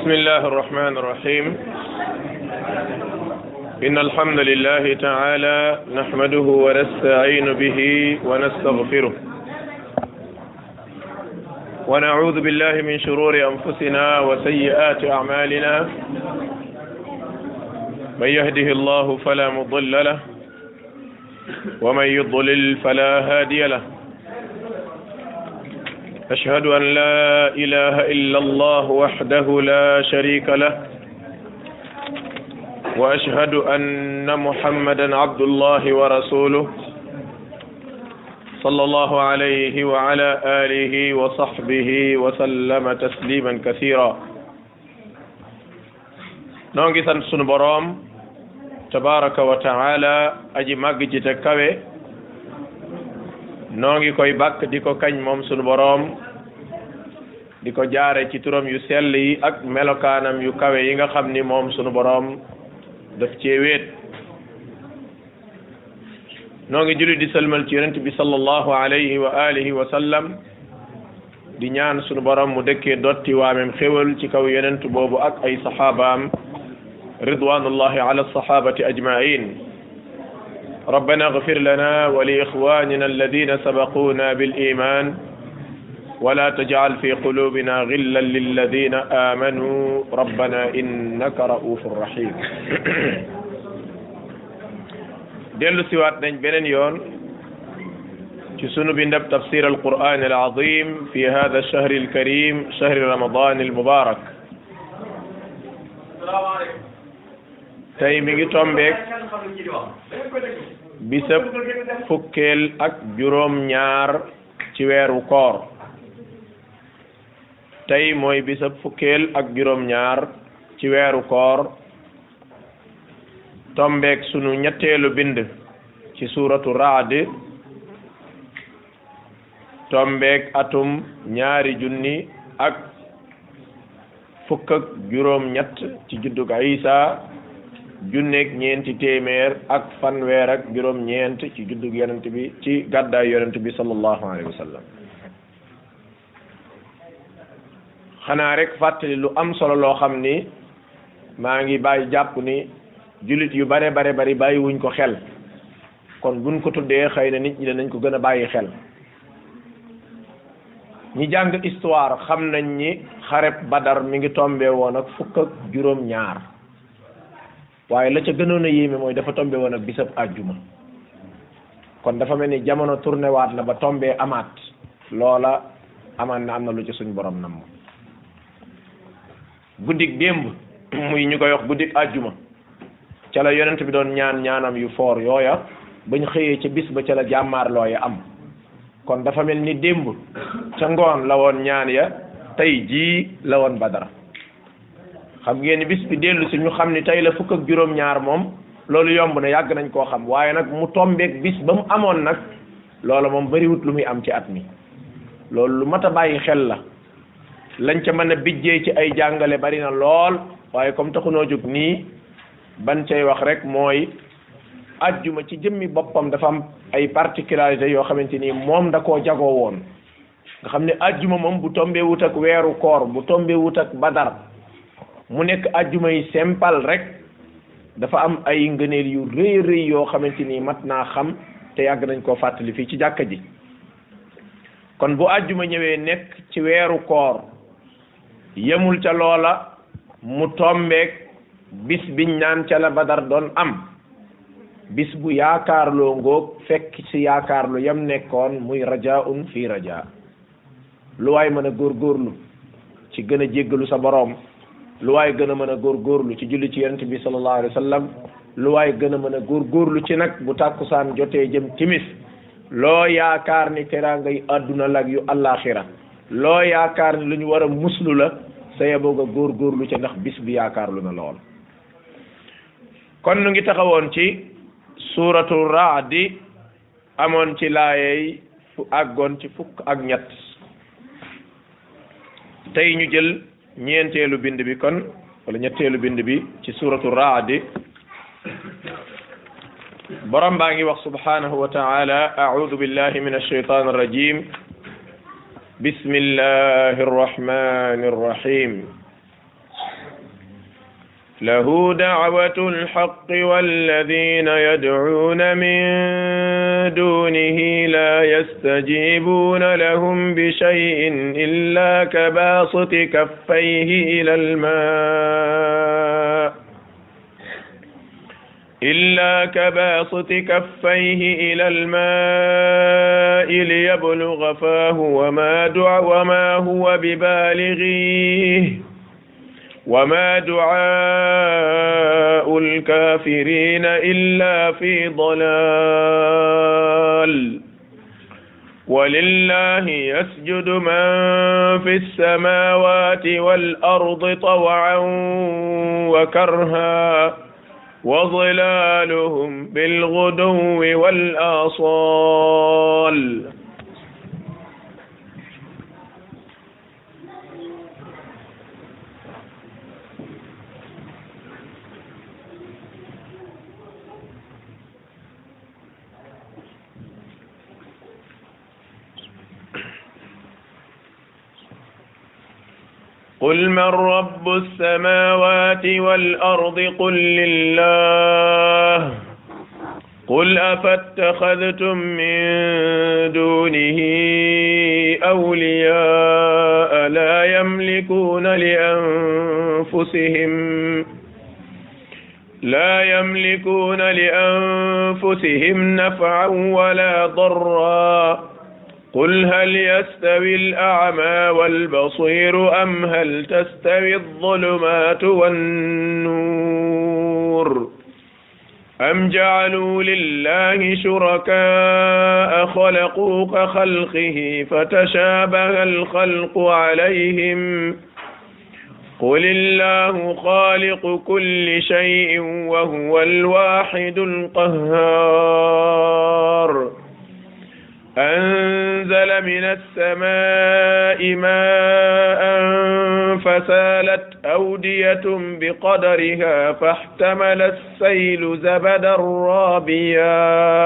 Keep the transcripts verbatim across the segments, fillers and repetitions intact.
بسم الله الرحمن الرحيم إن الحمد لله تعالى نحمده ونستعين به ونستغفره ونعوذ بالله من شرور أنفسنا وسيئات أعمالنا من يهده الله فلا مضل له ومن يضلل فلا هادي له أشهد أن لا إله إلا الله وحده لا شريك له وأشهد أن محمدا عبد الله ورسوله صلى الله عليه وعلى آله وصحبه وسلم تسليما كثيرا نونغي سان سونو بروم تبارك وتعالى أجي ماغي تكاوي نونغي كوي باك ديكو كاج موم سونو بروم diko jaare ci turam yu sell yi ak melokaanam yu kawe yi nga xam ni moom sunu boroom daf cee wéet noo ngi julli di salmal ci yonent bi sallallahu alayhi wa alihi wa sallam di ñaan sunu boroom mu dëkkee dotti waamem xéwal ci kaw yonent boobu ak ay saxaabaam ridwanullahi ala sahabati ajmain ربنا اغفر لنا ولإخواننا الذين سبقونا بالإيمان ولا تجعل في قلوبنا غلا للذين آمنوا ربنا إنك رؤوف رحيم دلو سوات نج بنن يون ci sunu bindab تفسير القرآن العظيم في هذا الشهر الكريم شهر رمضان المبارك tey mi ngi tombeek bisab fukkeel ak juróom ñaar ci weeru koor tey mooy bisab fukkeel ak juróom ñaar ci weeru koor tombeek sunu ñetteelu bind ci suuratu Ra'd tombeek atum ñaari junni ak fukk ak juróom ñett ci juddug Isa junneeg ñeenti téeméer ak fanweer ak juróom ñeent ci juddug yonent bi ci gàddaay yonent bi sallallahu alayhi wa sallam xanaa rek fàttali lu am solo loo xam ni maa ngi bàyyi jàpp ni jullit yu bare bare bari bàyyi wuñ ko xel kon buñ ko tuddee xëy na nit ñi danañ ko gën a bàyyi xel ñi jàng histoire xam nañ ni xareb Badar mi ngi tombé woon ak fukk ak juróom ñaar waaye la ca gënoon a yéeme mooy dafa tombé woon ak bisab àjjuma kon dafa mel ni jamono tourné waat na ba tombé amaat loola amaan na am na lu ci suñ borom nam guddik démb muy ñu koy wax guddik àjjuma ca la yonent bi doon ñaan ñaanam yu foor yooya bañ xëyee ca bis ba ca la jàmmaar looya am kon dafa mel ni démb ca ngoon la woon ñaan ya tey jii la woon Badar xam ngeen ni bis bi dellu si ñu xam ni tey la fukk ak juróom ñaar moom loolu yomb na yàgg nañ koo xam waaye nag mu tombeek bis ba mu amoon nag loola moom bariwut lu muy am ci at mi loolu lu mat a bàyyi xel la lañ ca mën a bijjee ci ay jàngale bari na lool waaye comme taxunoo jóg nii ban cay wax rek mooy ajjuma ci jëmmi boppam dafa am ay particularités yoo xamante ni moom da koo jagoo woon nga xam ne ajjuma moom bu tombee wut ak weeru koor bu tombee wut ak Badar mu nekk ajjuma yi simple rek dafa am ay ngëneel yu rëy rëy yoo xamante ni mat naa xam te yàgg nañ koo fàttali fii ci jàkka ji kon bu ajjuma ñëwee nekk ci weeru koor yemul ca loola mu tombeek bis biñ naan ca la Badar doon am bis bu yaakaarloo ngoog fekk ci yaakaarlu yam nekkoon muy rajaun fii raja lu waay mën a góorgóorlu ci gën a jéggalu sa boroom lu waay gën a mën a góorgóorlu ci julli ci yonent bi sallallahu alayhi wa sallam lu waay gën a mën a góorgóorlu ci nag bu tàkkusaan jotee jëm timis loo yaakaar ni teraanga yi àdduna lag yu àllaaxira loo yaakaar ni lu ñu war a muslu la sa yeboo nga góorgóorlu ci ndax bis bi yaakaarlu na lool kon nu ngi taxawoon ci suuratu Ra'd amoon ci laayey fu àggoon ci fukk ak ñett tey ñu jël ñeenteelu bind bi kon wala ñetteelu bind bi ci suuratu Ra'd borom baa ngi wax subhanahu wa ta'ala a'udhu billahi minash shaytanir rajim بسم الله الرحمن الرحيم له دعوة الحق والذين يدعون من دونه لا يستجيبون لهم بشيء إلا كباسط كفيه إلى الماء إلا كباسط كفيه إلى الماء ليبلغ فاه وما دع وما هو ببالغيه وما دعاء الكافرين إلا في ضلال ولله يسجد من في السماوات والأرض طوعا وكرها وظلالهم بالغدو والآصال. قل من رب السماوات والأرض قل لله قل أفاتخذتم من دونه أولياء لا يملكون لأنفسهم لا يملكون لأنفسهم نفعا ولا ضرا قل هل يستوي الأعمى والبصير أم هل تستوي الظلمات والنور أم جعلوا لله شركاء خلقوا كخلقه فتشابه الخلق عليهم قل الله خالق كل شيء وهو الواحد القهار أنزل من السماء ماء فسالت أودية بقدرها فاحتمل السيل زبدا رابيا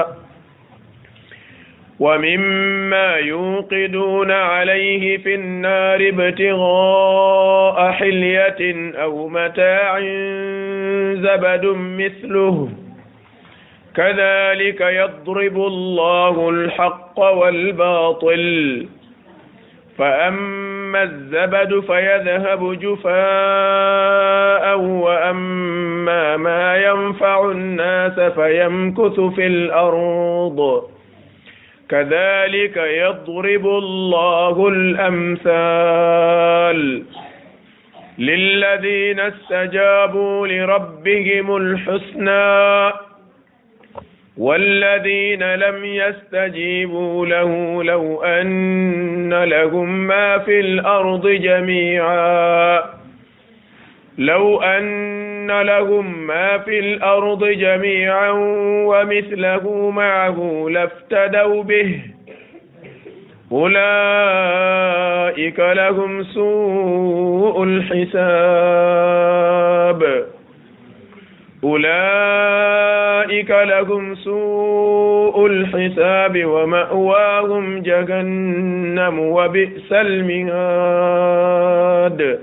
ومما يوقدون عليه في النار ابتغاء حلية أو متاع زبد مثله كذلك يضرب الله الحق والباطل فأما الزبد فيذهب جفاء وأما ما ينفع الناس فيمكث في الأرض كذلك يضرب الله الأمثال للذين استجابوا لربهم الحسنى والذين لم يستجيبوا له لو أن لهم ما في الأرض جميعا لو أن لهم ما في الأرض جميعا ومثله معه لافتدوا به أولئك لهم سوء الحساب أولئك لهم سوء الحساب ومأواهم جهنم وبئس المهاد.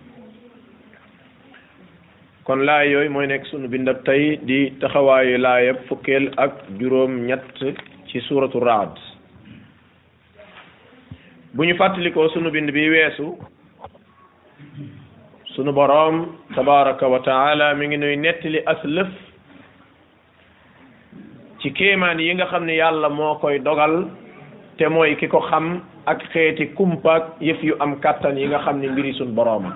kon laay yooyu mooy nekk sunu bindab tey di taxawaayu laayab fukkeel ak juróom ñett ci suuratu Raad. bu ñu fàttalikoo sunu bind bi weesu sunu boroom tabaraka wa taala mi ngi nuy nettali aslëf ci kéemaan yi nga xam ne yàlla moo koy dogal te mooy ki ko xam ak xeeti kumpaak yëf yu am kàttan yi nga xam ne mbiri sunu borooma.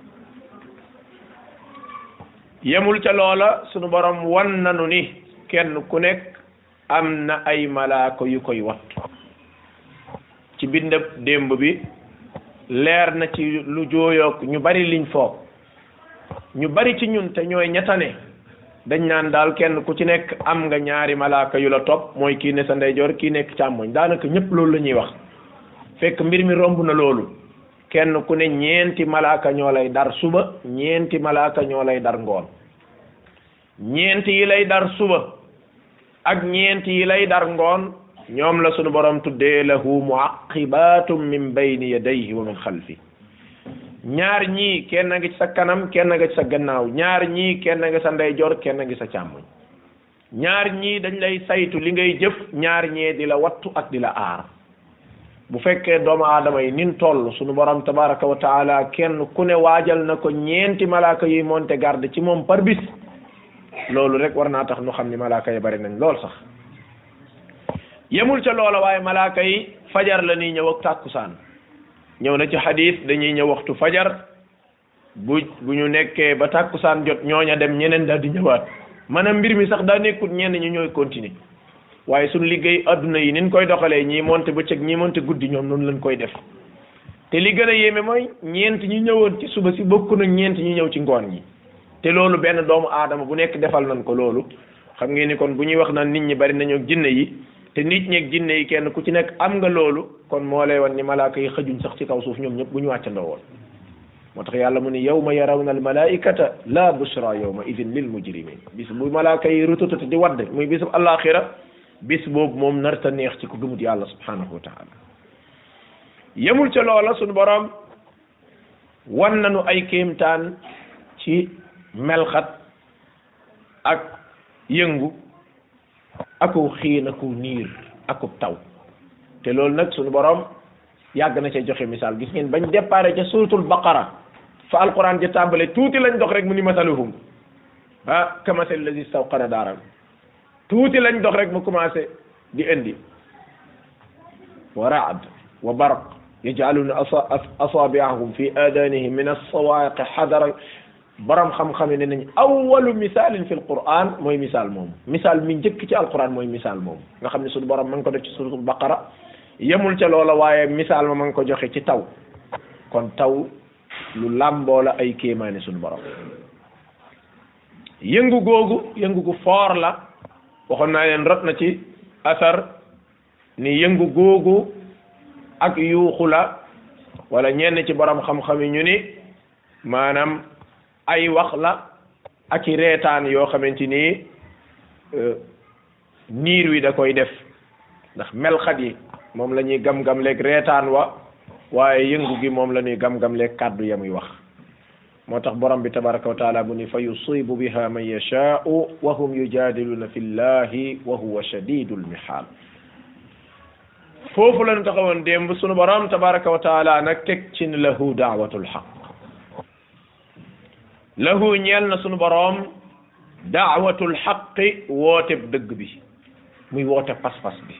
yemul ca loola sunu boroom wan nanu ni kenn ku nekk am na ay malaaka yu koy wattu. ci bindab démb bi leer na ci lu jooyoog ñu bari liñ foog ñu bari ci ñun te ñooy ñettane dañ naan daal kenn ku ci nekk am nga ñaari malaaka yu la topp mooy kii ne sa ndeyjoor kii nekk càmmoñ daanaka ñëpp loolu la ñuy wax fekk mbir mi romb na loolu kenn ku ne ñeenti malaaka ñoo lay dar suba ñeenti malaaka ñoo lay dar ngoon ñeenti yi lay dar suba ak ñeenti yi lay dar ngoon ñoom la sunu borom tuddee lahu muaqibatum min bayni yadayhi wa min xalfi ñaar ñii kenn nga ci sa kanam kenn nga ci sa gannaaw ñaar ñii kenn nga sa ndeyjoor kenn nga sa càmmoñ ñaar ñii dañ lay saytu li ngay jëf ñaar ñee di la wattu ak di la aar bu fekkee doomu aadama yi nin toll suñu borom tabaraka wa taala kenn ku ne waajal na ko ñeenti malaaka yuy monte garde ci moom par bis loolu rek war naa tax nu xam ni malaaka yi bari nañ lool sax yemul ca loola waaye malaaka yi fajar la nii ñëw ak tàkkusaan ñëw na ci xadis dañuy ñëw waxtu fajar bu bu ñu nekkee ba tàkkusaan jot ñooña dem ñeneen daal di ñëwaat maanaam mbir mi sax daa nekkul ñenn ñu ñooy continuer waaye suñu liggéey adduna yi niñ koy doxalee ñii monte bëccëg ñii monte guddi ñoom noonu lañ koy def te li gën a yéeme mooy ñeent ñi ñëwoon ci suba si bokk na ñeent ñi ñëw ci ngoon ñi te loolu benn doomu aadama bu nekk defal nañ ko loolu xam ngeen ni kon bu ñuy wax naan nit ñi bari nañoo jinne yi te nit ñeeg jinne yi kenn ku ci nekk am nga loolu kon moo lay wan ni malaaka yi xëjuñ sax ci kaw suuf ñoom ñëpp bu ñu wàccandoo woon moo tax yàlla mu ni yawma yarawna al malaikata la bushra yawma idin lil mujrimin bis bu malaaka yi rututati di wadd muy bisub alaxira bis boobu moom narta neex ci ku gëmut yàlla subhanahu wa taala yemul ca loola suñu borom wan nañu ay kéemtaan ci melxat ak yëngu aku xiin aku niir aku taw te loolu nag suñu borom yàgg na ca joxe misaal gis ngeen bañ déparé ca suratul baqara fa alquran ja tàmbale tuuti lañ dox rek mu ni masaluhum ah kamasal lazi stawqana daaran tuuti lañ dox rek mu commencé di indi wa raad wa barq yaj'aluna asabi'ahum fi adanihim min as-sawa'iq hadara borom xam-xam yi ne nañ awwalu misaalin fi alquran mooy misaal moom misaal mi njëkk ci alquran mooy misaal moom nga xam ne suñu borom ma ngi ko def ci suratul baqara yemul ca loola waaye misaal ma ma ngi ko joxe ci taw kon taw lu làmboo la ay kéemaane suñu borom yëngu googu yëngu gu foor la waxoon naa leen rot na ci asar ni yëngu googu ak yuuxu la wala ñenn ci borom xam-xam yi ñu ni maanaam ay wax la ak i reetaan yoo xamante ni niir wi da koy def ndax melxat yi moom la ñuy gam-gam leeg reetaan wa waaye yëngu gi moom la ñuy gam-gam leeg kàddu ya muy wax moo tax borom bi tabaraka wa taala bu ni fa yusibu biha man yashaau wa hum yujadiluna fi llahi wa huwa shadidul mihaal foofu la ñu taxawoon démb sunu borom tabaraka wa taala nag teg ci ni lahu daawatul xaq lahu ñeel na sunu borom daawatul xaqi woote dëgg bi muy woote pas-pas bi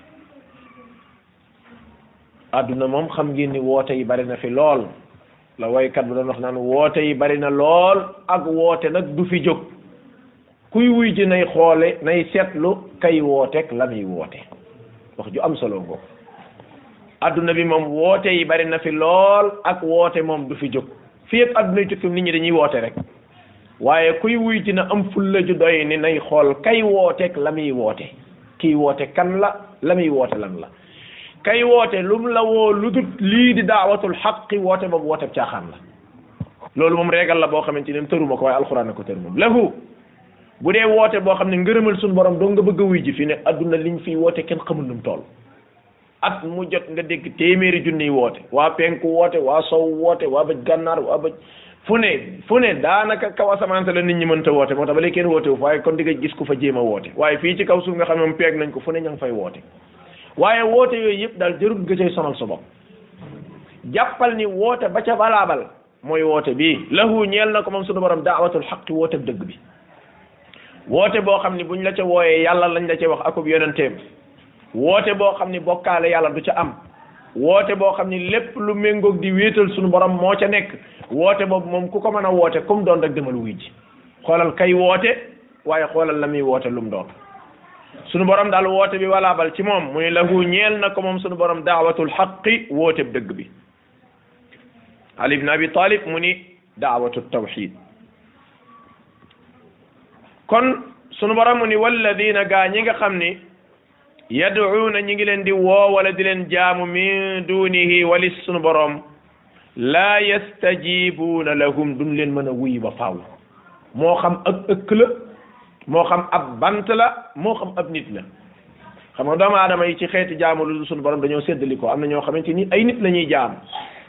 adduna moom xam ngeen ni woote yi bari na fi lool la waykat bu doon wax naan woote yi bari na lool ak woote nag du fi jóg kuy wuy ji nay xoole nay seetlu kay wooteek la muy woote wax ju am solo ngoo adduna bi moom woote yi bari na fi lool ak woote moom du fi jóg fii ak adduna yi tukki nit ñi dañuy woote rek waaye kuy wuy ji na am fulla ju doy ni nay xool kay wooteek la muy woote kii woote kan la la muy woote lan la kay woote lum la woo lu dut lii di daawatul xaqi woote boobu woote caaxaan la loolu moom régal la boo xamante ne tëruma ko waaye alxuraan na ko tër moom lahu bu dee woote boo xam ne ngërëmal suñu borom doo nga bëgg a wuy ji fi ne adduna liñ fiy woote kenn xamul nu mu toll at mu jot nga dégg téeméeri junniy woote waa penku woote waa sow woote waa bëj gànnaar waa bëj fu ne fu ne daanaka kaw asamaan la nit ñi mënta woote moo tax ba léegi kenn woote wu waaye kon di nga gis ku fa jéem a woote waaye fii ci kaw suuf nga xam ne moom peeg nañ ko fu ne ña ngi fay woote waaye woote yooyu yëpp daal jarul nga cay sonal sa bopp jàppal ni woote ba ca balaabal mooy woote bii lahu ñeel na ko moom suñu borom daawatul xaqi woote dëgg bi woote boo xam ni buñ la ca wooyee yàlla lañ la ca wax akub yonenteem woote boo xam ni bokkaale yàlla du ca am woote boo xam ni lépp lu méngoog di wéetal suñu borom moo ca nekk woote boobu moom ku ko mën a woote comme doon rek demal wuy ji xoolal kay woote waaye xoolal la muy woote lu mu doon sunu borom daal woote bi walaabal ci moom muy lahu ñeel na ko moom sunu borom daawatul xaqi woote dëgg bi Ali ibn Abi Talib mu ni daawatu tawxid kon sunu borom mu ni walladina gaa ñi nga xam ni yad'uuna ñi ngi leen di woo wala di leen jaamu min dunihi walis sunu borom laa yastajibuuna lahum duñ leen mën a wuy ba faaw moo xam ak ëkk la moo xam ab bant la moo xam ab nit la xam nga doomu aadama yi ci xeeti jaamu lu suñu borom dañoo séddali ko am na ñoo xamante ni ay nit la ñuy jaam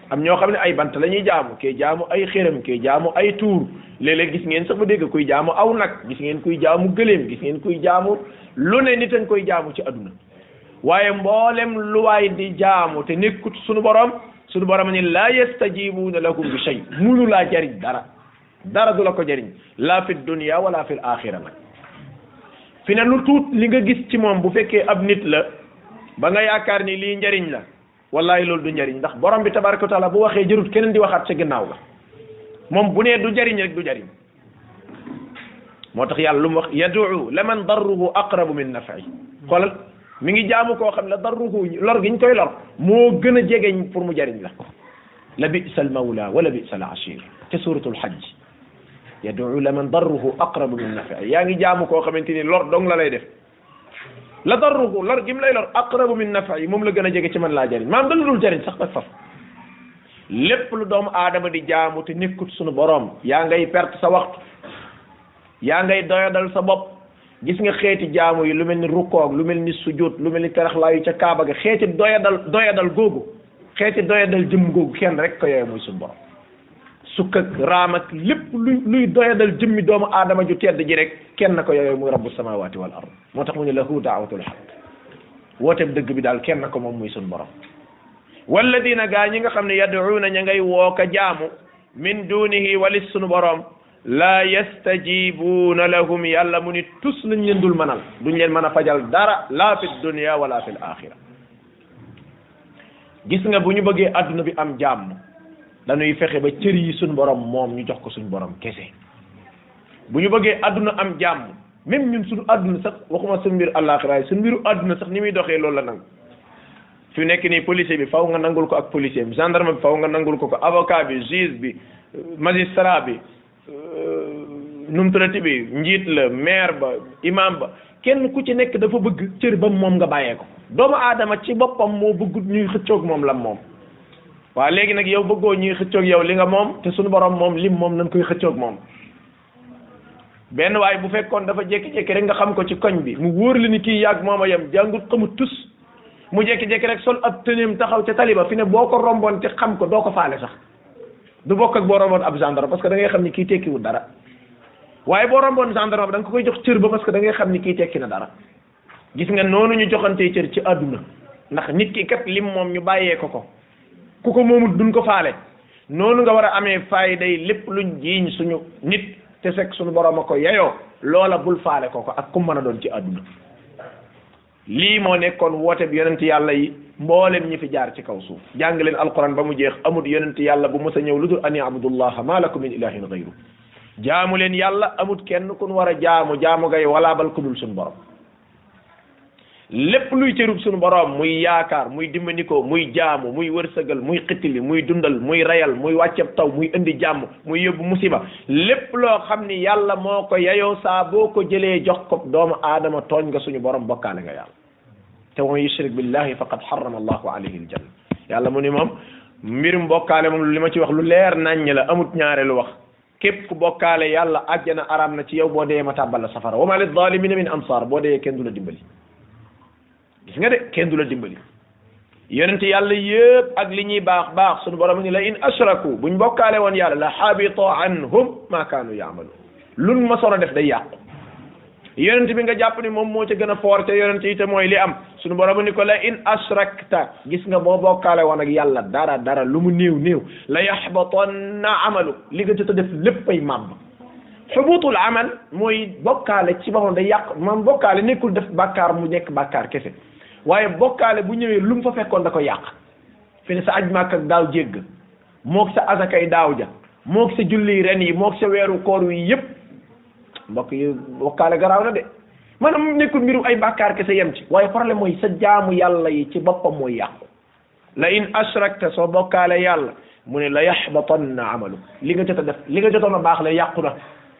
am ñoo xam ne ay bant la ñuy jaamu kee jaamu ay xéram kee jaamu ay tuur léeg-léeg gis ngeen sax ba dégg kuy jaamu aw nag gis ngeen kuy jaamu gëléem gis ngeen kuy jaamu lu ne nit a koy jaamu ci adduna waaye mboolem lu waay di jaamu te nekkut suñu borom suñu borom ni laa yastajibuuna lakum bi shay munu laa jariñ dara dara du la ko jariñ la fi dunya wala fi l axira nag fi ne lu tuut li nga gis ci moom bu fekkee ab nit la ba nga yaakaar ni lii njariñ la wallahi loolu du njariñ ndax borom bi tabaraka wa taala bu waxee jërut keneen di waxaat ca ginnaaw la moom bu nee du jariñ rek du jariñ moo tax yàlla lu mu wax yad'u laman darruhu aqrabu min naf'i xoolal mi ngi jaamu koo xam ne darruhu lor gi ñu koy lor moo gën a jegeñ pour mu jariñ la la bi'sa al mawla wala bi'sa al ashir te suratul hajj yad'u laman darruhu aqrabu min naf'i yaa ngi jaamu koo xamante ni lor dong la lay def la darruhu lor gi mu lay lor aqrabu min naf'i moom la gën a jege ci man laa jariñ maam da la dul jariñ sax nag faf lépp lu doomu aadama di jaamu te nekkut suñu borom yaa ngay perte sa waxtu yaa ngay doyadal sa bopp gis nga xeeti jaamu yi lu mel ni rukkoog lu mel ni sujud lu mel ni teraxlaayu ca kaaba ga xeeti doyadal doyadal googu xeeti doyadal jëm googu kenn rek ko yooyu muy suñu borom sukk ak raam ak lépp luy luy doyadal jëmmi doomu aadama ju tedd ji rek kenn ko yooyu muy rabbu samawati wal ard moo tax mu ne lahu daawatul haq wooteeb dëgg bi daal kenn ko moom muy suñu borom walladina gaa ñi nga xam ne yad'uuna ña ngay woo ka jaamu min dunihi walis suñu borom la yastajibuuna lahum yàlla mu ni tus lañ leen dul mënal duñ leen mën a fajal dara la fi dunya wala fi l axira gis nga bu ñu bëggee adduna bi am jàmm dañuy fexe ba cër yi suñu borom moom ñu jox ko suñu borom kese bu ñu bëggee adduna am jàmm même ñun suñu adduna sax waxuma suñu mbir àllaaxira suñu mbiru adduna sax ni muy doxee loolu la nangu fi nekk nii policier bi faw nga nangul ko ak policier bi gendarme bi faw nga nangul ko ko avocat bi juge bi magistrat bi num tuddati bi njiit la maire ba imam ba kenn ku ci nekk dafa bëgg cër ba moom nga bàyyee ko doomu aadama ci boppam moo bëgg ñuy xëccoog moom la moom waaw léegi nag yow bëggoo ñuy xëccoog yow li nga moom te suñu borom moom lim moom nañ koy xëccoog moom benn waaye bu fekkoon dafa jékki-jékki rek nga xam ko ci koñ bi mu wóor la ni kii yàgg mooma yem jàngut xamut tus mu jékki-jékki rek sol ab tëneem taxaw ca taliba fi ne boo ko romboon te xam ko doo ko faale sax du bokk ak boo romboon ab gendarme parce que da ngay xam ni kii tekkiwul dara waaye boo romboon gendarme da nga ko koy jox cër ba parce que da ngay xam ni kii tekki na dara gis nga noonu ñu joxantee cër ci àdduna ndax nit ki kat lim moom ñu bàyyee ko ko ku ko moomul duñ ko faale noonu nga war a amee fayda yi lépp luñ jiiñ suñu nit te fekk suñu borom a ko yeyoo loola bul faale ko ko ak ku mën a doon ci àdduna lii moo nekkoon woote bi yonent yàlla yi mboolem ñi fi jaar ci kaw suuf jàng leen alquran ba mu jeex amut yonent yàlla bu mës a ñëw lu dul an ya'budullaha ma lakum min ilahin ghayru jaamu leen yàlla amut kenn kun war a jaamu jaamu gay walaa bal ku dul suñu borom lépp luy cërub suñu borom muy yaakaar muy dimbandikoo muy jaamu muy wërsëgal muy xittili muy dundal muy rayal muy wàcceb taw muy indi jàmm muy yóbbu musiba lépp loo xam ni yàlla moo ko yayoo saa boo ko jëlee jox ko doomu aadama tooñ nga suñu borom bokkaale nga yàlla te wa man yushrik billahi faqad harrama allahu alayhi aljanna yàlla mu ni moom mbirum bokkaale moom li ma ci wax lu leer naññ la amut ñaareelu wax képp ku bokkaale yàlla àjjana araam na ci yow boo dee ma tàbbal la safara wa ma lil zalimina min ansar boo dee kenn du la dimbali gis nga de kenn du la dimbali yonent yàlla yëpp ak li ñuy baax baax sunu borom ni la in ashraku buñ bokkaale woon yàlla la habita anhum ma kaanu yaamalu luñ ma soon a def day yàqu yonent bi nga jàpp ni moom moo ca gën a foor te yonent yi te mooy li am sunu borom ni ko la in ashrakta gis nga boo bokkaale woon ak yàlla dara dara lu mu néew néew la yaxbatanna amalu li nga jot a def léppay màbb xubutul amal mooy bokkaale ci boppam day yàq maam bokkaale nekkul def bàkkaar mu nekk bàkkaar kese waaye bokkaale bu ñëwee lu mu fa fekkoon da ko yàq fi ne sa aj màkk ak daaw jégg moog sa asakay daaw ja moog sa julli ren yi moog sa weeru koor wi yëpp mbokk yi bokkaale garaaw na de maanaam nekkul mbiru ay bàkkaar kese yem ci waaye problème mooy sa jaamu yàlla yi ci boppam mooy yàqu la in ashrakta soo bokkaale yàlla mu ne la yaxbatanna amalu li nga jot a def li nga jotoon a baax la yàqu na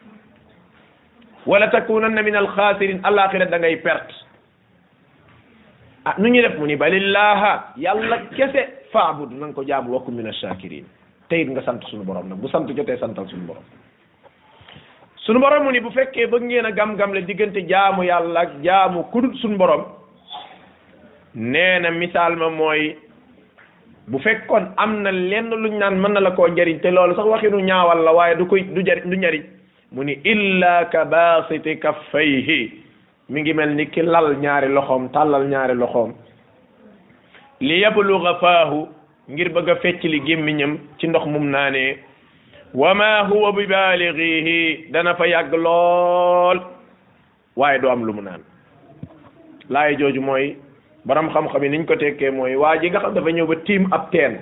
wala takunanna min alxaasirin alaxira da ngay perte ah nu ñuy def mu ni balillaha yàlla kese faabud na nga ko jaamu wakku min achakirin te it nga sant suñu borom nag bu sant jotee santal suñu borom suñu borom mu ni bu fekkee bëgg ngeen a gam-gam le diggante jaamu yàlla ak jaamu kudut suñu borom nee na misaal ma mooy bu fekkoon am na lenn luñ naan mën na la koo njariñ te loolu sax waxinu ñaawal la waaye du koy du jariñ du njariñ mu ni illa ka basiti kaffayhi mi ngi mel ni ki lal ñaari loxoom tàllal ñaari loxoom li yabluga faahu ngir bëgg a fecc li gémmiñam ci ndox mum naanee wa ma huwa bi balighihi dana fa yàgg lool waaye du am lu mu naan laay jooju mooy borom xam-xam yi niñ ko tekkee mooy waa ji nga xam dafa ñëw ba tiim ab teen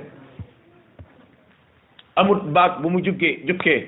amut baag bu mu jukkee jukkee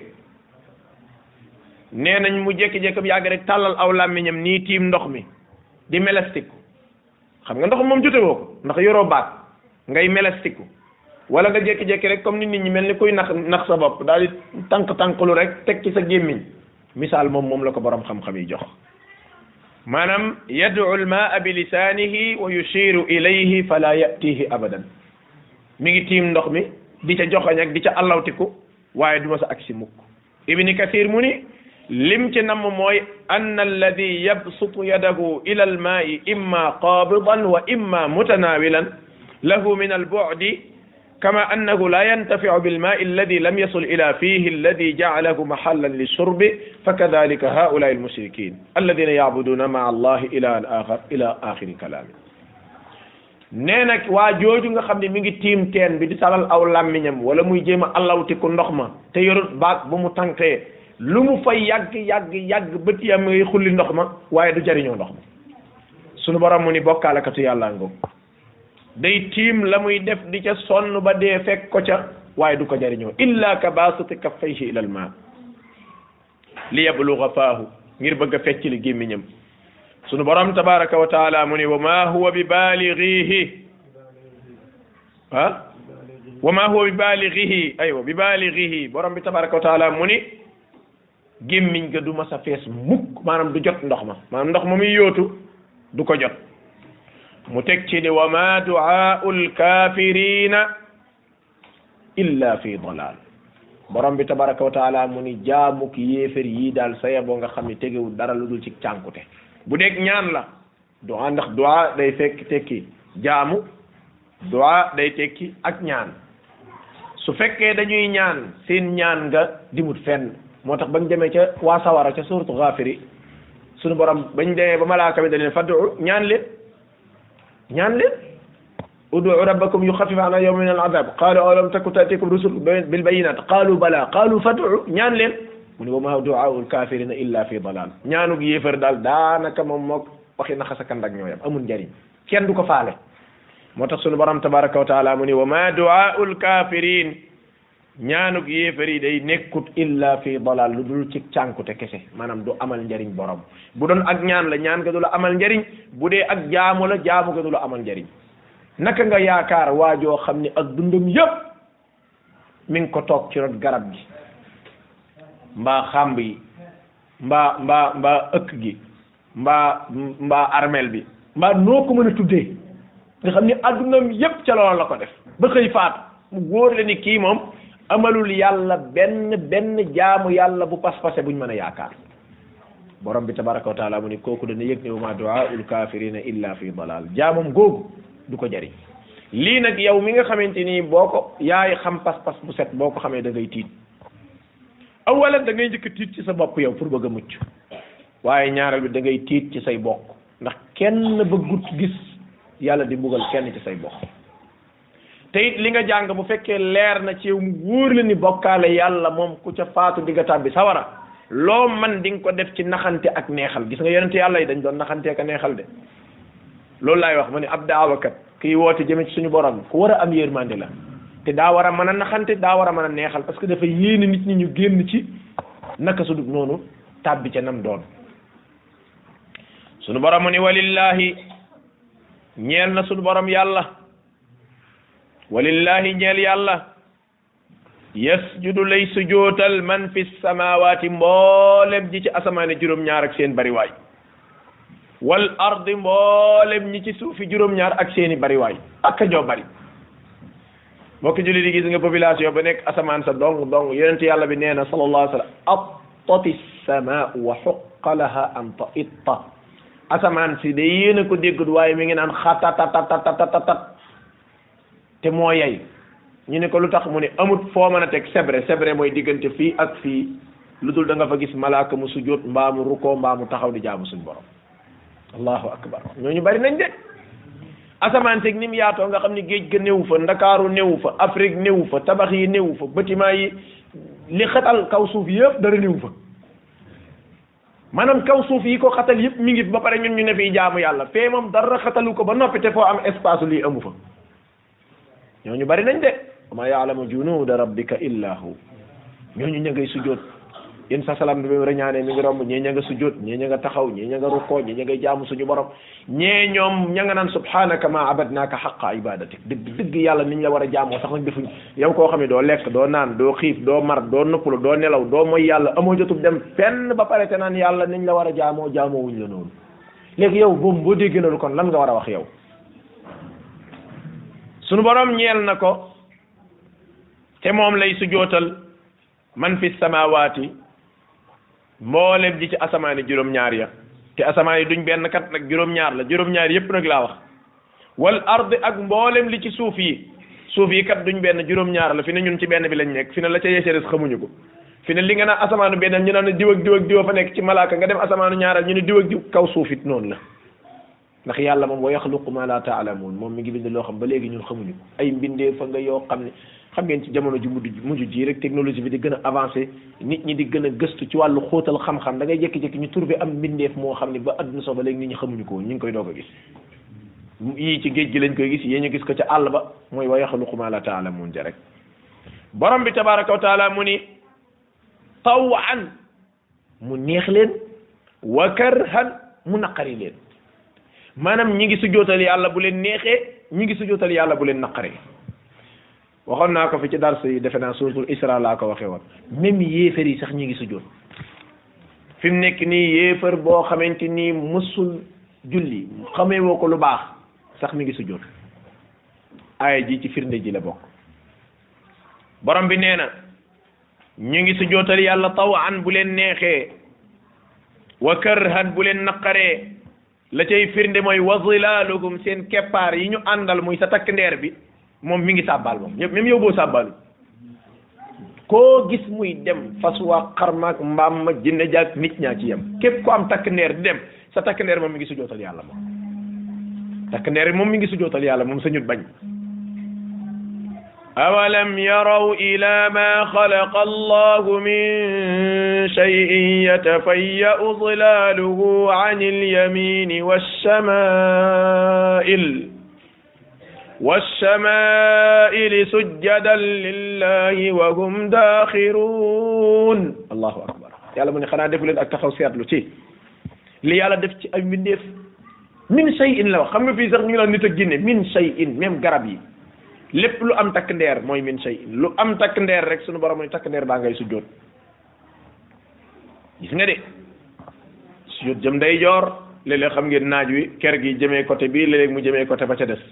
nee nañ mu jékki-jékki bi yàgg rek tàllal aw làmmiñam nii tiim ndox mi di melestiku xam nga ndox moom jotewoo ko ndax yoroo baag ngay melestiku wala nga jékki-jékki rek comme ni nit ñi mel ni kuy nax nax sa bopp daal di tànk-tànklu rek teg ci sa gémmiñ misaal moom moom la ko borom xam-xam yi jox maanaam yad'u al-maa'a bi lisaanihi wa yushiru ilayhi fala yatihi abadan mi ngi tiim ndox mi di ca joxoñ ak di ca allawtiku waaye du ma sa agsi mukk ibni kathir mu ni lim ci namm mooy anna alladi yabsutu yadahu ila al-maa'i imma qabidan wa imma mutanawilan lahu min al-bu'di كما أنه لا ينتفع بالماء الذي لم يصل إلى فيه الذي جعله محلا للشرب فكذلك هؤلاء المشركين الذين يعبدون مع الله إلى آخر إلى آخر كلامه نينك واجوجو nga xamni mi ngi tim teen bi di salal aw lamiñam wala muy jema allawti ko ndox ma te yorut baak bu mu tanké lu mu fay yag yag yag beuti am ngay xulli ndox ma waye du jariño ndox ma sunu borom mu ni bokkala katu yalla ngok day tiim la muy def di ca sonn ba dee fekk ko ca waaye du ko jariñoo illa ka basiti kaffayhi ila al ma li yabluga faahu ngir bëgg a fecc li gémmiñam sunu borom tabaraka wa taala mu ni wa ma huwa bi balighihi ah wa ma huwa bi balighihi aywa bi balighihi borom bi tabaraka wa taala mu ni gémmiñ ga du ma sa fees mukk maanaam du jot ndox ma maanaam ndox ma muy yóotu du ko jot mu teg ci ni wa ma du'aa'u al-kaafiriina illa fi dalal borom bi tabaraka wa taala mu ni jaamuk yéefér yii daal saya boo nga xam ne tegewul dara lu dul ci cànkute bu dee ñaan la du'a ndax du'a day fekk tekki jaamu du'a day tekki ak ñaan su fekkee dañuy ñaan seen ñaan nga dimut fenn moo tax bañ demee ca waa sawara ca suuratu Gaafiri sunu borom bañ demee ba malaaka bi da leen fad'u ñaan leen ñaan leen ud'u rabbakum yuxaffif anna yawman min al-'adab qalu alam takun ta'tikum rusul bil bayyinat qalu bala qalu fad'u ñaan leen mu ne wa ma du'aa'u al-kafirina illa fi dalal ñaanug yéefar daal daanaka moom mook waxi naxa sa kandak ñooyam amul njariñ kenn du ko faale moo tax sunu borom tabaraka wa taala mu ne wa ma du'aa'u al-kafirin ñaanug yéefar yi day nekkut illa fi dalal lu dul ci cànkute kese maanaam du amal njariñ borom bu doon ak ñaan la ñaan ga du la amal njariñ bu dee ak jaamu la jaamu ga du la amal njariñ naka nga yaakaar waajoo xam ni ak dundam yépp mi ngi ko toog ci rot garab gi mbaa xàmb yi mbaa mbaa mbaa ëkk gi mbaa mbaa armel bi mbaa noo ko mën a tuddee nga xam ni addunam yépp ca loolu la ko def ba xëy faatu mu wóor la ni kii moom amalul yàlla benn benn jaamu yàlla bu pas-pase buñ mën a yaakaar borom bi tabaraka wa taala mu ni kooku dana yëg ne wa ma du'aa'ul kaafirina illa fi dalal jaamam googu du ko jariñ lii nag yow mi nga xamante ni boo ko yaay xam pas-pas bu set boo ko xamee da ngay tiit awalan da ngay njëkk tiit ci sa bopp yow pour bëgg a mucc waaye ñaareel bi da ngay tiit ci say bokk ndax kenn bëggut gis yàlla di mbugal kenn ci say bokk te it li nga jàng bu fekkee leer na ci yow mu wóor la ni bokkaale yàlla moom ku ca faatu digga tàbbi sawara loo man di nga ko def ci naxante ak neexal gis nga yonente yàlla yi dañ doon naxante ak neexal de loolu laay wax ma ne ab daawakat kiy woote jëme ci suñu borom ku war a am yërmande la te daa war a mën a naxante daa war a mën a neexal parce que dafa yéene nit ñi ñu génn ci naka su dul noonu tàbbi ca nam doon suñu borom mu ni walillahi ñeel na suñu borom yàlla walillahi ñeel yàlla yasjudu lay sujootal man fi samawati mboolem ji ci asamaane juróom-ñaar ak seen bariwaay wal ardi mboolem ñi ci suufi juróom-ñaar ak seeni bariwaay ak a joo bari mbokk julli di gis nga population ba nekk asamaan sa dong dong yonent yàlla bi nee na sallallahu alayhi wa sallam attati samaau wa xuqa laha an taitta asamaan si de yéen a ko déggut waaye mi ngi naan xatatatatatatatat te moo yey ñu ne ko lu tax mu ne amut foo mën a teg sebre sebre mooy diggante fii ak fii lu dul da nga fa gis malaaka mu sujjóot mbaa mu rukkoo mbaa mu taxaw di jaamu suñ borom allahu akbar ñooñu bari nañ de asamaan seeg ni mu yaatoo nga xam ne géej ga néewu fa ndakaaru néewu fa Afrique néewu fa tabax yi néewu fa bâtiment yi li xatal kaw suuf yëpp dara néewu fa maanaam kaw suuf yi ko xatal yëpp mi ngi fi ba pare ñun ñu ne fii jaamu yàlla fee moom dara xatalu ko ba noppi te foo am espace lii amu fa ñooñu bari nañ de ma yaalamu junuuda rabbika illa hu ñooñu ña ngay sujjóot yéen sa salaam bi ba ñaanee mi ngi romb ñee ña nga sujjóot ñee ña nga taxaw ñee ña nga rukkoo ñee ña ngay jaamu suñu borom ñee ñoom ña nga naan subhanaka ma abadnaaka xaqa ibadatik dëgg dëgg yàlla niñ la war a jaamoo sax nag defuñ yow koo xam ne doo lekk doo naan doo xiif doo mar doo noppalu doo nelaw doo mooy yàlla amoo jotub dem fenn ba pare te naan yàlla niñ la war a jaamoo jaamoo wuñ la noonu léegi yow boobu boo déggee na lu kon lan nga war a wax yow suñu borom ñeel na ko te moom lay sujootal man fi samawaati mboolem ji ci asamaani juróom-ñaar ya te asamaan yi duñ benn kat nag juróom-ñaar la juróom-ñaar yépp nag laa wax wal ard ak mboolem li ci suuf yi suuf yi kat duñ benn juróom-ñaar la fi ne ñun ci benn bi lañ nekk fi ne la ca yeeseres xamuñu ko fi ne li nga naan asamaanu benn ñu naan diw ak diw ak diw fa nekk ci malaaka nga dem asamaanu ñaaral ñu ne diw ak diw kaw suuf it noonu la ndax yàlla moom wa yaxluqu ma la taalamuun moom mi ngi bind loo xam ba léegi ñun xamuñu ko ay mbindee fa nga yoo xam ne xam ngeen ci jamono ji mujj mujj ji rek technologie bi di gën a avancé nit ñi di gën a gëstu ci wàllu xóotal xam-xam da ngay jékki-jékki ñu trouvé am mbindeef moo xam ne ba adduna so ba léegi nit ñi xamuñu ko ñu ngi koy doog a gis yii ci géej gi lañ koy gis yée ñu gis ko ca àll ba mooy wa yaxluqu ma la taalamuun ja rek borom bi tabaraka wa taala mu ni tawan mu neex leen wa karhan mu naqari leen maanaam ñi ngi sujjootal yàlla bu leen neexee ñi ngi sujjootal yàlla bu leen naqaree waxoon naa ko fi ci dars yi defe naa suratul isra laa ko waxee woon même yéefar yi sax ñi ngi sujjoot fi mu nekk nii yéefar boo xamante nii mësul julli xamee woo ko lu baax sax mi ngi sujjoot aaya ji ci firnde ji la bokk borom bi nee na ñu ngi sujjootal yàlla tawan bu leen neexee wa karhan bu leen naqaree la cay firnde mooy wa zilaalukum seen keppaar yi ñu àndal muy sa takk ndeer bi moom mi ngi sàbbaal moom ñëpp même yow boo sàbbaalu koo gis muy dem fas waa xarmaak mbaam ma jinne jaag nit ñaa ci yem képp ko am takk ndeer di dem sa takk ndeer moom mi ngi sujootal yàlla moom takk ndeer moom mi ngi sujootal yàlla moom sa ñut bañ awalam yaraw ila ma xalaqa allahu min shay'in yatafayya'u zilaaluhu an al-yamini wash-shama'il wash-shama'il sujjadan lillahi wa hum daaxiruun allahu akbar yàlla mu ne xanaa defu leen ak taxaw seetlu ci li yàlla def ci ay mbindeef min shay'in la wax xam nga fii sax ñu ngi naan nit ak jinne min shay'in même garab yi lépp lu am takk ndeer mooy min shay'in lu am takk ndeer rek sunu borom ni takk ndeer baa ngay sujjoot gis nga de sujjoot jëm day joor léeg-léeg xam ngeen naaj wi ker gi jëmee côté bii léeg-léeg mu jëmee côté ba ca des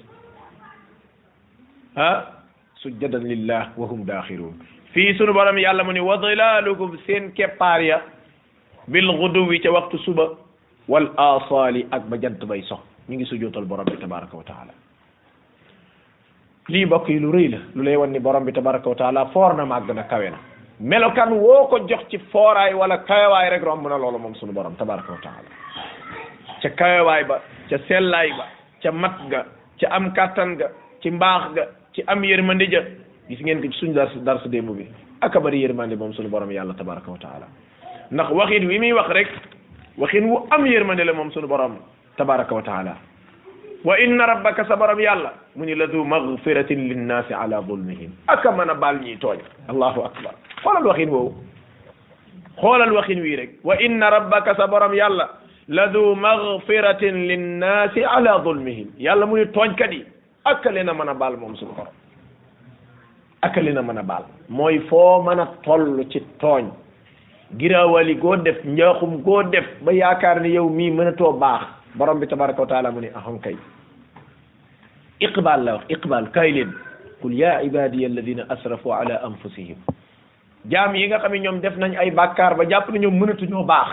ah sujjadan lillah wa hum daaxiruun fii sunu borom yàlla mu ni wa dilaalukum seen keppaar ya bil guduwi ca waxtu suba wal asaali ak ba jant bay sox ñu ngi sujjootal borom bi tabaraka wa taala lii mbokk yi lu rëy la lu lay wan ni borom bi tabaraka wa taala foor na màgg na kawe na melokaan woo ko jox ci fooraay wala kawewaay rek romb na loolu moom sunu borom tabaraka wa taala ca kawewaay ba ca sellaay ba ca mat ga ca am kàttan ga ci mbaax ga ci am yërmande ja gis ngeen ko ci suñu dars dars démb bi aka bari yërmande moom sunu borom yàlla tabaraka wa taala ndax waxin wi muy wax rek waxin wu am yërmande la moom sunu borom tabaraka wa taala wa inna rabbaka sa borom yàlla mu ni la du magfiratin linnaasi ala zulmihim aka mën a baal ñiy tooñ allahu akbar xoolal waxin woowu xoolal waxin wii rek wa inna rabbaka sa borom yàlla la du magfiratin linnaasi ala zulmihim yàlla mu ni tooñkat yi aka leen a mën a baal moom suñu borom aka leen a mën a baal mooy foo mën a toll ci tooñ girawali goo def njaaxum goo def ba yaakaar ni yow mii mënatoo baax borom bi tabaraka wa taala mu ni ahon kay iqbal la wax iqbal kaay leen qul ya ibadiya alladina asrafu ala anfusihim jaam yi nga xam ne ñoom def nañ ay bàkkaar ba jàpp na ñoom mënatuñoo baax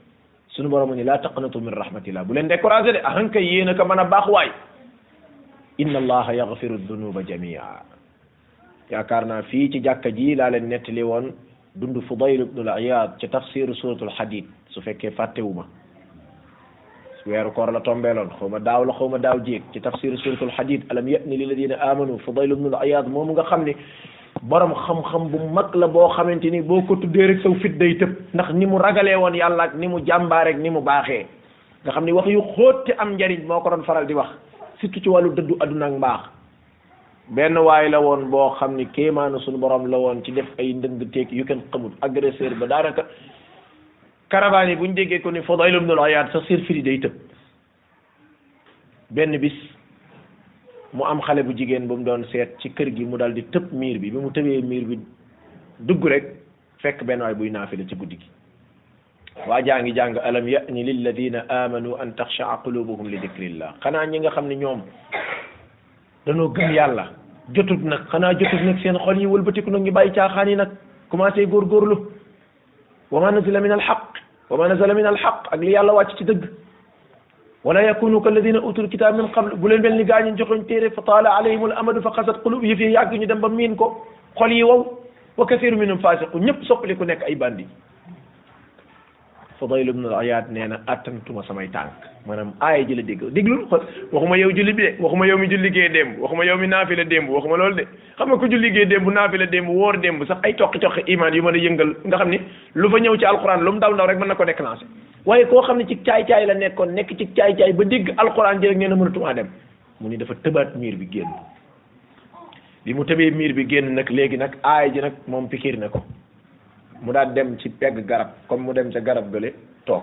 suñu borom mu ni laa taqnatu min rahmatillah bu leen découragé de ahon kay yéen a ko mën a baax waay inna allaha yaghfiru dunuba jamia yaakaar naa fii ci jàkka ji laa leen nettali woon dund Fudayl ibn al-Iyad ci tafsiru suratul Hadid su fekkee fàttewuma weeru koor la tombeeloon xaw ma daaw la xaw ma daaw jéeg ci tafsiru suratul Hadid alam ya'ni lilladina amanu Fudayl ibn al-Iyad moom nga xam ne borom xam-xam bu mag la boo xamante ni boo ko tuddee rek saw fit day tëb ndax ni mu ragalee woon yàlla ak ni mu jàmbaarek ni mu baaxee nga xam ni wax yu xóot te am njariñ moo ko doon faral di wax surtout ci wàllu dëddu adduna ak mbaax benn waay la woon boo xam ni kéemaanu suñu borom la woon ci def ay ndëng teeg yu kenn xamul agresseur ba daanaka caravane yi bu ñu déggee ko ni Fudayl ibn al-Iyad sa sir firi day tëb benn bis mu am xale bu jigéen bu mu doon seet ci kër gi mu dal di tëb miir bi bi mu tëbee miir bi dugg rek fekk benn waay buy naafila ci guddi gi waa jaa ngi jàng alam ya'ni lilladina amanu an taxshaa qulubuhum li dikrillah xanaa ñi nga xam ne ñoom danoo gëm yàlla jotut nag xanaa jotut nag seen xol yi wëlbatiku nag ñu bàyyi caaxaan yi nag commencé góorgóorlu wa ma nazala min alxaq wa ma nazala min alxaq ak li yàlla wàcc ci dëgg wala yakunu kalladina utul kitab min qabl bu leen mel ni gaa ñi joxoñ téere fa taala alayhim al amadu fa xasat qulub yi fi yàgg ñu dem ba miin ko xol yi wow wa kathiru minhum fasiqu ñëpp soppali ku nekk ay bandi Fudayl ibn al-Iyad nee na attantuma samay tànk maanaam aaya ji la dégg déglul waxuma yow julli bi de waxuma yow mi julli gee démb waxuma yow mi naafila démb waxuma loolu de xam nga ku julli gee démb naafila démb wóor démb sax ay toqi-toqi iman yu mën a yëngal nga xam ni lu fa ñëw ci alquran lu mu ndaw ndaw rek mën na ko déclencher waaye koo xam ne ci caay-caay la nekkoon nekk ci caay-caay ba dégg alquran ji rek nee na mënatumaa dem mu ni dafa tëbaat miir bi génn bi mu tëbee miir bi génn nag léegi nag aaya ji nag moom pikir na ko mu daal dem ci pegg garab comme mu dem ca garab gële toog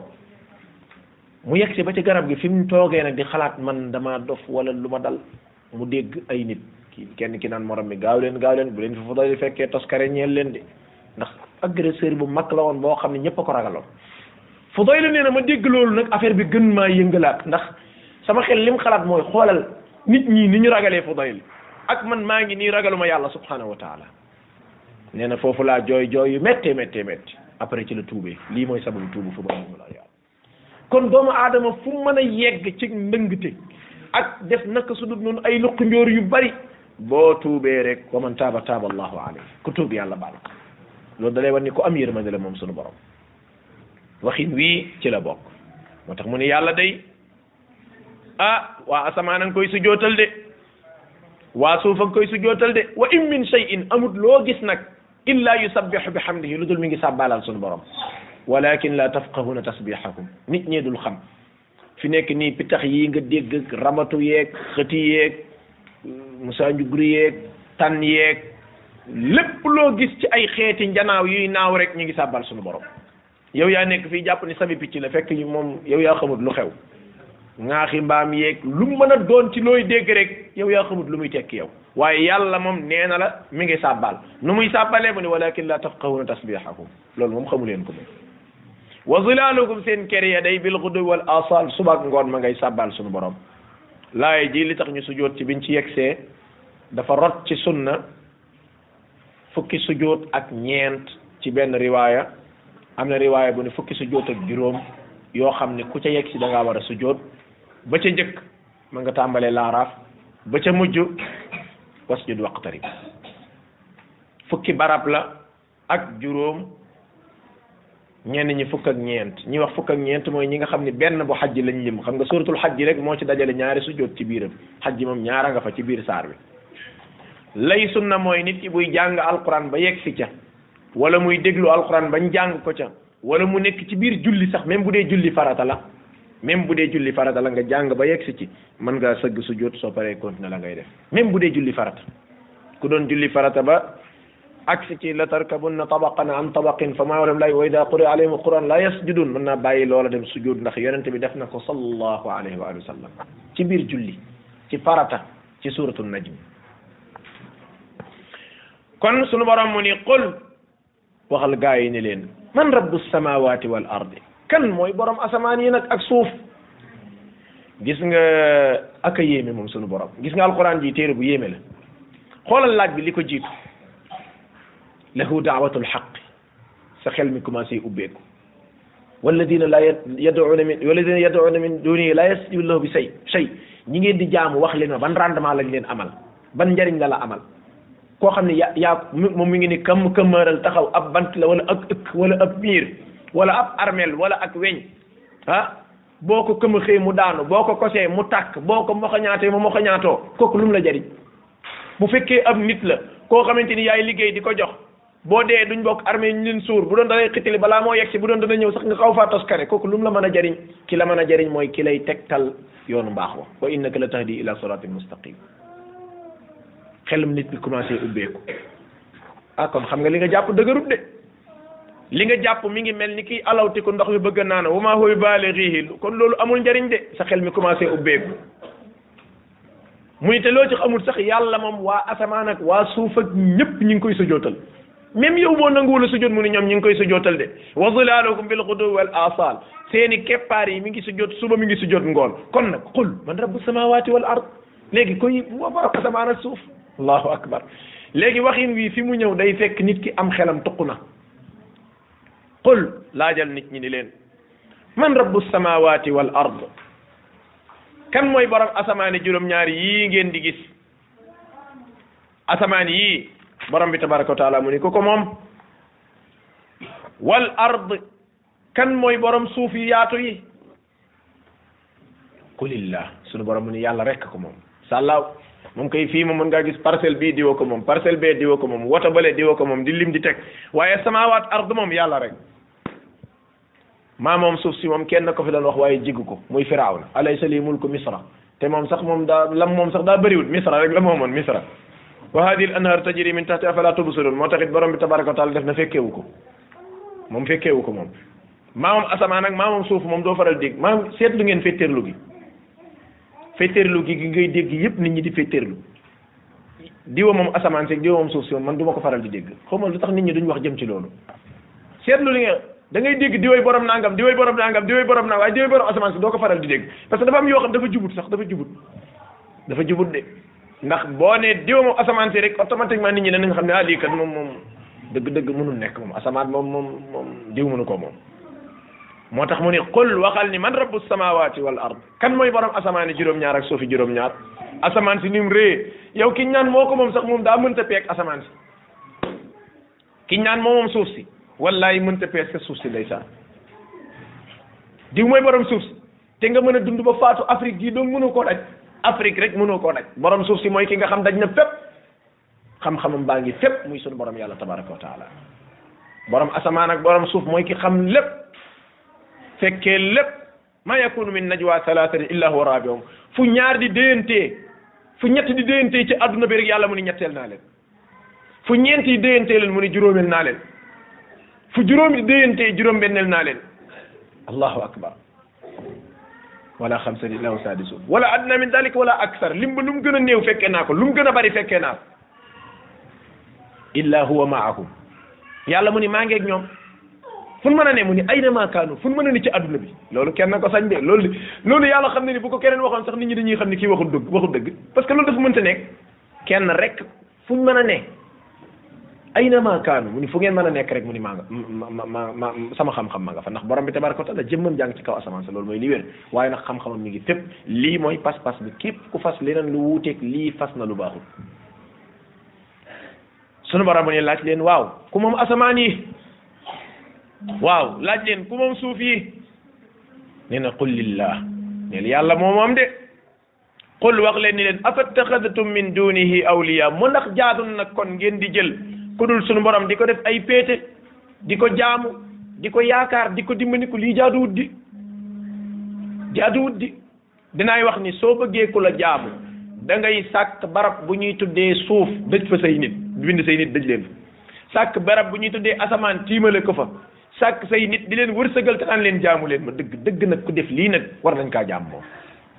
mu yegg si ba ci garab gi fi mu toogee nag di xalaat man dama dof wala lu ma dal mu dégg ay nit kii kenn ki naan morom mi gaaw leen gaaw leen bu leen fi Fudayl fekkee toskare ñeel leen de ndax agresseur bu mag la woon boo xam ne ñëpp a ko ragaloon Fudayl nee na ma dégg loolu nag affaire bi gën maa yëngalaat ndax sama xel lim xalaat mooy xoolal nit ñi ni ñu ragalee Fudayl ak man maa ngi nii ragaluma yàlla subhanahu wa taala nee na foofu laa jooy jooy yu méttee méttee métti après ci la tuubee lii mooy sababu tuubu fu Fudayl ibn al-Iyad kon doomu aadama fu mën a yegg ci ndëngte ak def naka su dul noonu ay luqi njóor yu bari boo tuubee rek wa man taaba taaba allahu alayhi ku tuub yàlla baal loolu da lay wan ni ku am yërmande la moom sunu borom waxin wii ci la bokk moo tax mu ne yàlla day ah waa asamaan a nga koy sujootal de waa suuf a nga koy sujootal de wa in min shay'in amut loo gis nag illa yusabbihu bihamdihi lu dul mi ngi sàbbaalal sunu borom walakin la tafqahuna tasbihahum nit ñee dul xam fi nekk nii pitax yi nga dégg ramatu yeeg xëti yeeg musa njugri yeeg tan yeeg lépp loo gis ci ay xeeti njanaaw yuy naaw rek ñu ngi sàbbal sunu borom yow yaa nekk fii jàpp ni sabi picc la fekk moom yow yaa xamut lu xew ŋaaxi mbaam yeeg lu mën a doon ci looy dégg rek yow yaa xamut lu muy tekki yow waaye yàlla moom nee na la mi ngi sàbbal nu muy sàbbalee mu ne walakin la tafqahuna tasbihahum loolu moom xamu leen ko moom wa zilaalukum seen kër ya day bil ghudu wal asal subaak ngoon ma ngay sàbbal sunu borom laay ji li tax ñu sujoot ci biñ ci yegsee dafa rot ci sunna fukki sujoot ak ñeent ci benn riwaaya am na riwaaya bu ne fukki sujoot ak juróom yoo xam ne ku ca yegg si da ngaa war a sujoot ba ca njëkk ma nga tàmbalee laaraaf ba ca mujj wasjud waqtarib fukki barab la ak juróom ñenn ñi fukk ak ñeent ñi wax fukk ak ñeent mooy ñi nga xam ne benn bu xajji lañ lim xam nga suratul xajji rek moo ci dajale ñaari sujjoot ci biiram xajji moom ñaara nga fa ci biir saar bi lay sunna mooy nit ki buy jàng alquran ba yegg si ca wala muy déglu alquran bañ jàng ko ca wala mu nekk ci biir julli sax même bu dee julli farata la même bu dee julli farata la nga jàng ba yegg si ci mën ngaa sëgg sujjoot soo paree continuer la ngay def même bu dee julli farata ku doon julli farata ba aksi ci la tarkabunna tabaqan an tabaqin fa maa walam lay wa ida quri alayhim alquran la yasjudun mën naa bàyyi loola dem sujud ndax yonente bi def na ko sallallahu alayhi wa sallam ci biir julli ci farata ci suratu najm kon sunu borom mu ni qul waxal gaa yi ne leen man rabbu samawati wal ardi kan mooy borom asamaan yi nag ak suuf gis nga aka yéeme moom sunu borom gis nga alquran ji téere bu yéeme la xoolal laaj bi li ko jiitu lahu daawatul xaq sa xel mi commencé ubbeeku walladina la yad'una min walladina yad'una min dunihi la yastajibu lahu bi say shay ñi ngeen di jaamu wax leen ma ban rendement lañ leen amal ban njariñ la la amal koo xam ne yaa yaa moom mi ngi ni kam këmmaaral taxaw ab bant la wala ak ëkk wala ab miir wala ab armel wala ak weñ ah boo ko këma xëy mu daanu boo ko kosee mu tàkk boo ko moxañaatee mu moxañaatoo kooku lu mu la jariñ bu fekkee ab nit la koo xamante ni yaay liggéey di ko jox boo dee duñ bokk armée ñu leen suur bu doon danay xitili balaa moo yegg si bu doon dana ñëw sax nga xaw faa toskare kooku lu mu la mën a jariñ ki la mën a jariñ mooy ki lay tegtal yoonu mbaax wa wa innaka la tahdi ila siratin mustaqim xelum nit bi commencé ubbeeku ah kon xam nga li nga jàpp dëgërut de li nga jàpp mi ngi mel ni kii alawti ko ndox mi bëgg a naan wa maa huwa baalighihi kon loolu amul njariñ de sa xel mi commencé ubbeeku muy te loo ci xamul sax yàlla moom waa asamaan ak waa suuf ak ñëpp ñi ngi koy sujootal même yow boo nanguwul a sujoot mu ni ñoom ñi ngi koy sujootal de wa zilaalukum bil ghuduwwi wal aasaal seeni keppaar yi mi ngi sujoot suba mi ngi sujoot ngoon kon nag qul man rabbu samawati wal ard léegi koy moo borom asamaan ak suuf allahu akbar léegi waxin wi fi mu ñëw day fekk nit ki am xelam tuq na qul laajal nit ñi ni leen man rabbu samawati wal ard kan mooy borom asamaani juróom-ñaari yii ngeen di gis asamaan yii borom bi tabaraka wa taala mu ni ko ko moom wal ard kan mooy borom suuf yi yaatu yi qulillah sunu borom mu ni yàlla rekk ko moom sàllaaw moom kay fii moom mën ngaa gis parcelle bii diwa ko moom parcelle bee diwa ko moom woto bale diwa ko moom di lim di teg waaye samaawaat ard moom yàlla rek maa moom suuf si moom kenn ko fi doon wax waaye jiggu ko muy firawna alaysa li mulku misra te moom sax moom daa lam moom sax daa bëriwul misra rek la moomoon misra wa hadihi al anhar tajri min tahti afala tubsirun moo taxit borom bi tabaraka wa taala def na fekkeewu ko moom fekkeewu ko moom maa moom asamaan ak maa moom suuf moom doo faral dégg maa seetlu ngeen fetteerlu gi fetteerlu gi gi ngay dégg yëpp nit ñi di fetteerlu diwa moom asamaan seeg diwa moom suuf si moom man du ma ko faral di dégg xaw ma lu tax nit ñi duñ wax jëm ci loolu seetlu li nga da ngay dégg diway borom nangam diway borom nangam diway borom nangam waaye diway borom asamaan si doo ko faral di dégg parce que dafa am yoo xam dafa jubut sax dafa jubut dafa jubut de ndax boo nee diwa moom asamaan si rek automatiquement nit ñi danañ xam ne ah lii kat moom moom dëgg-dëgg mënul nekk moom asamaan moom moom moom diw mënu ko moom moo tax mu ni qul waxal ni man rabbu samawati wal ard kan mooy borom asamaan yi juróom-ñaar ak suufi juróom-ñaar asamaan si ni mu rée yow ki ñaan moo ko moom sax moom daa mënta peeg asamaan si ki ñaan moo moom suuf si wallahi mënta peeg sa suuf si ndeysaan diw mooy borom suuf si te nga mën a dund ba faatu Afrique gii doon mënoo koo daj Afrique rek mënoo koo daj borom suuf si mooy ki nga xam daj na fépp xam-xamam baa ngi fépp muy sunu borom yàlla tabaraka wa taala borom asamaan ak borom suuf mooy ki xam lépp fekkee lépp ma yakunu min najwa thalathatin illa huwa rabi'uhum fu ñaar di déyantee fu ñett di déyantee ci adduna bi rek yàlla mu ni ñetteel naa leen fu ñeent yi déyantee leen mu ni juróomeel naa leen fu juróomi di déyantee juróom benneel naa leen allahu akbar wala xamsa illa huwa sadisuhum wala adna min dalik wala aksar lim ba lu mu gën a néew fekkee naa ko lu mu gën a bari fekkee naa ko illa huwa maahum yàlla mu ni maa ngeeg ñoom fu mën a ne mu ni ayna maa kaanu fu mën a ne ci adduna bi loolu kenn ko sañ de loolu loolu yàlla xam ne ni bu ko keneen waxoon sax nit ñi dañuy xam ne kii waxul dëgg waxul dëgg parce que loolu dafa mënta nekk kenn rek fu mën a ne ayna maa kaanu mu ni fu ngeen mën a nekk rek mu ni maa nga ma ma ma sama xam-xam ma nga fa ndax borom bi tabaraka wa taala jëmmam jàng ci kaw asamaan sa loolu mooy li wér waaye nag xam-xamam mi ngi fépp lii mooy pas-pas bi képp ku fas leneen lu wuuteeg lii fas na lu baaxul sunu borom ne laaj leen waaw ku moom asamaan yi waaw laaj leen ku moom suuf yi nee na qul lillah neel yàlla moo moom de qul wax leen ni leen afattaxadtum min dunihi awliya mu ndax jaadu nag kon ngeen di jël ku dul sunu borom di ko def ay péete di ko jaamu di ko yaakaar di ko dimbandiku lii jaaduwut di jaaduwut di dinaay wax ni soo bëggee ku la jaamu da ngay sàkk barab bu ñuy tuddee suuf dëj fa say nit bind say nit dëj leen fa sàkk barab bu ñuy tuddee asamaan tiimale ko fa sàkk say nit di leen wërsëgal te naan leen jaamu leen ma dëgg dëgg nag ku def lii nag war nañ kaa jaam moom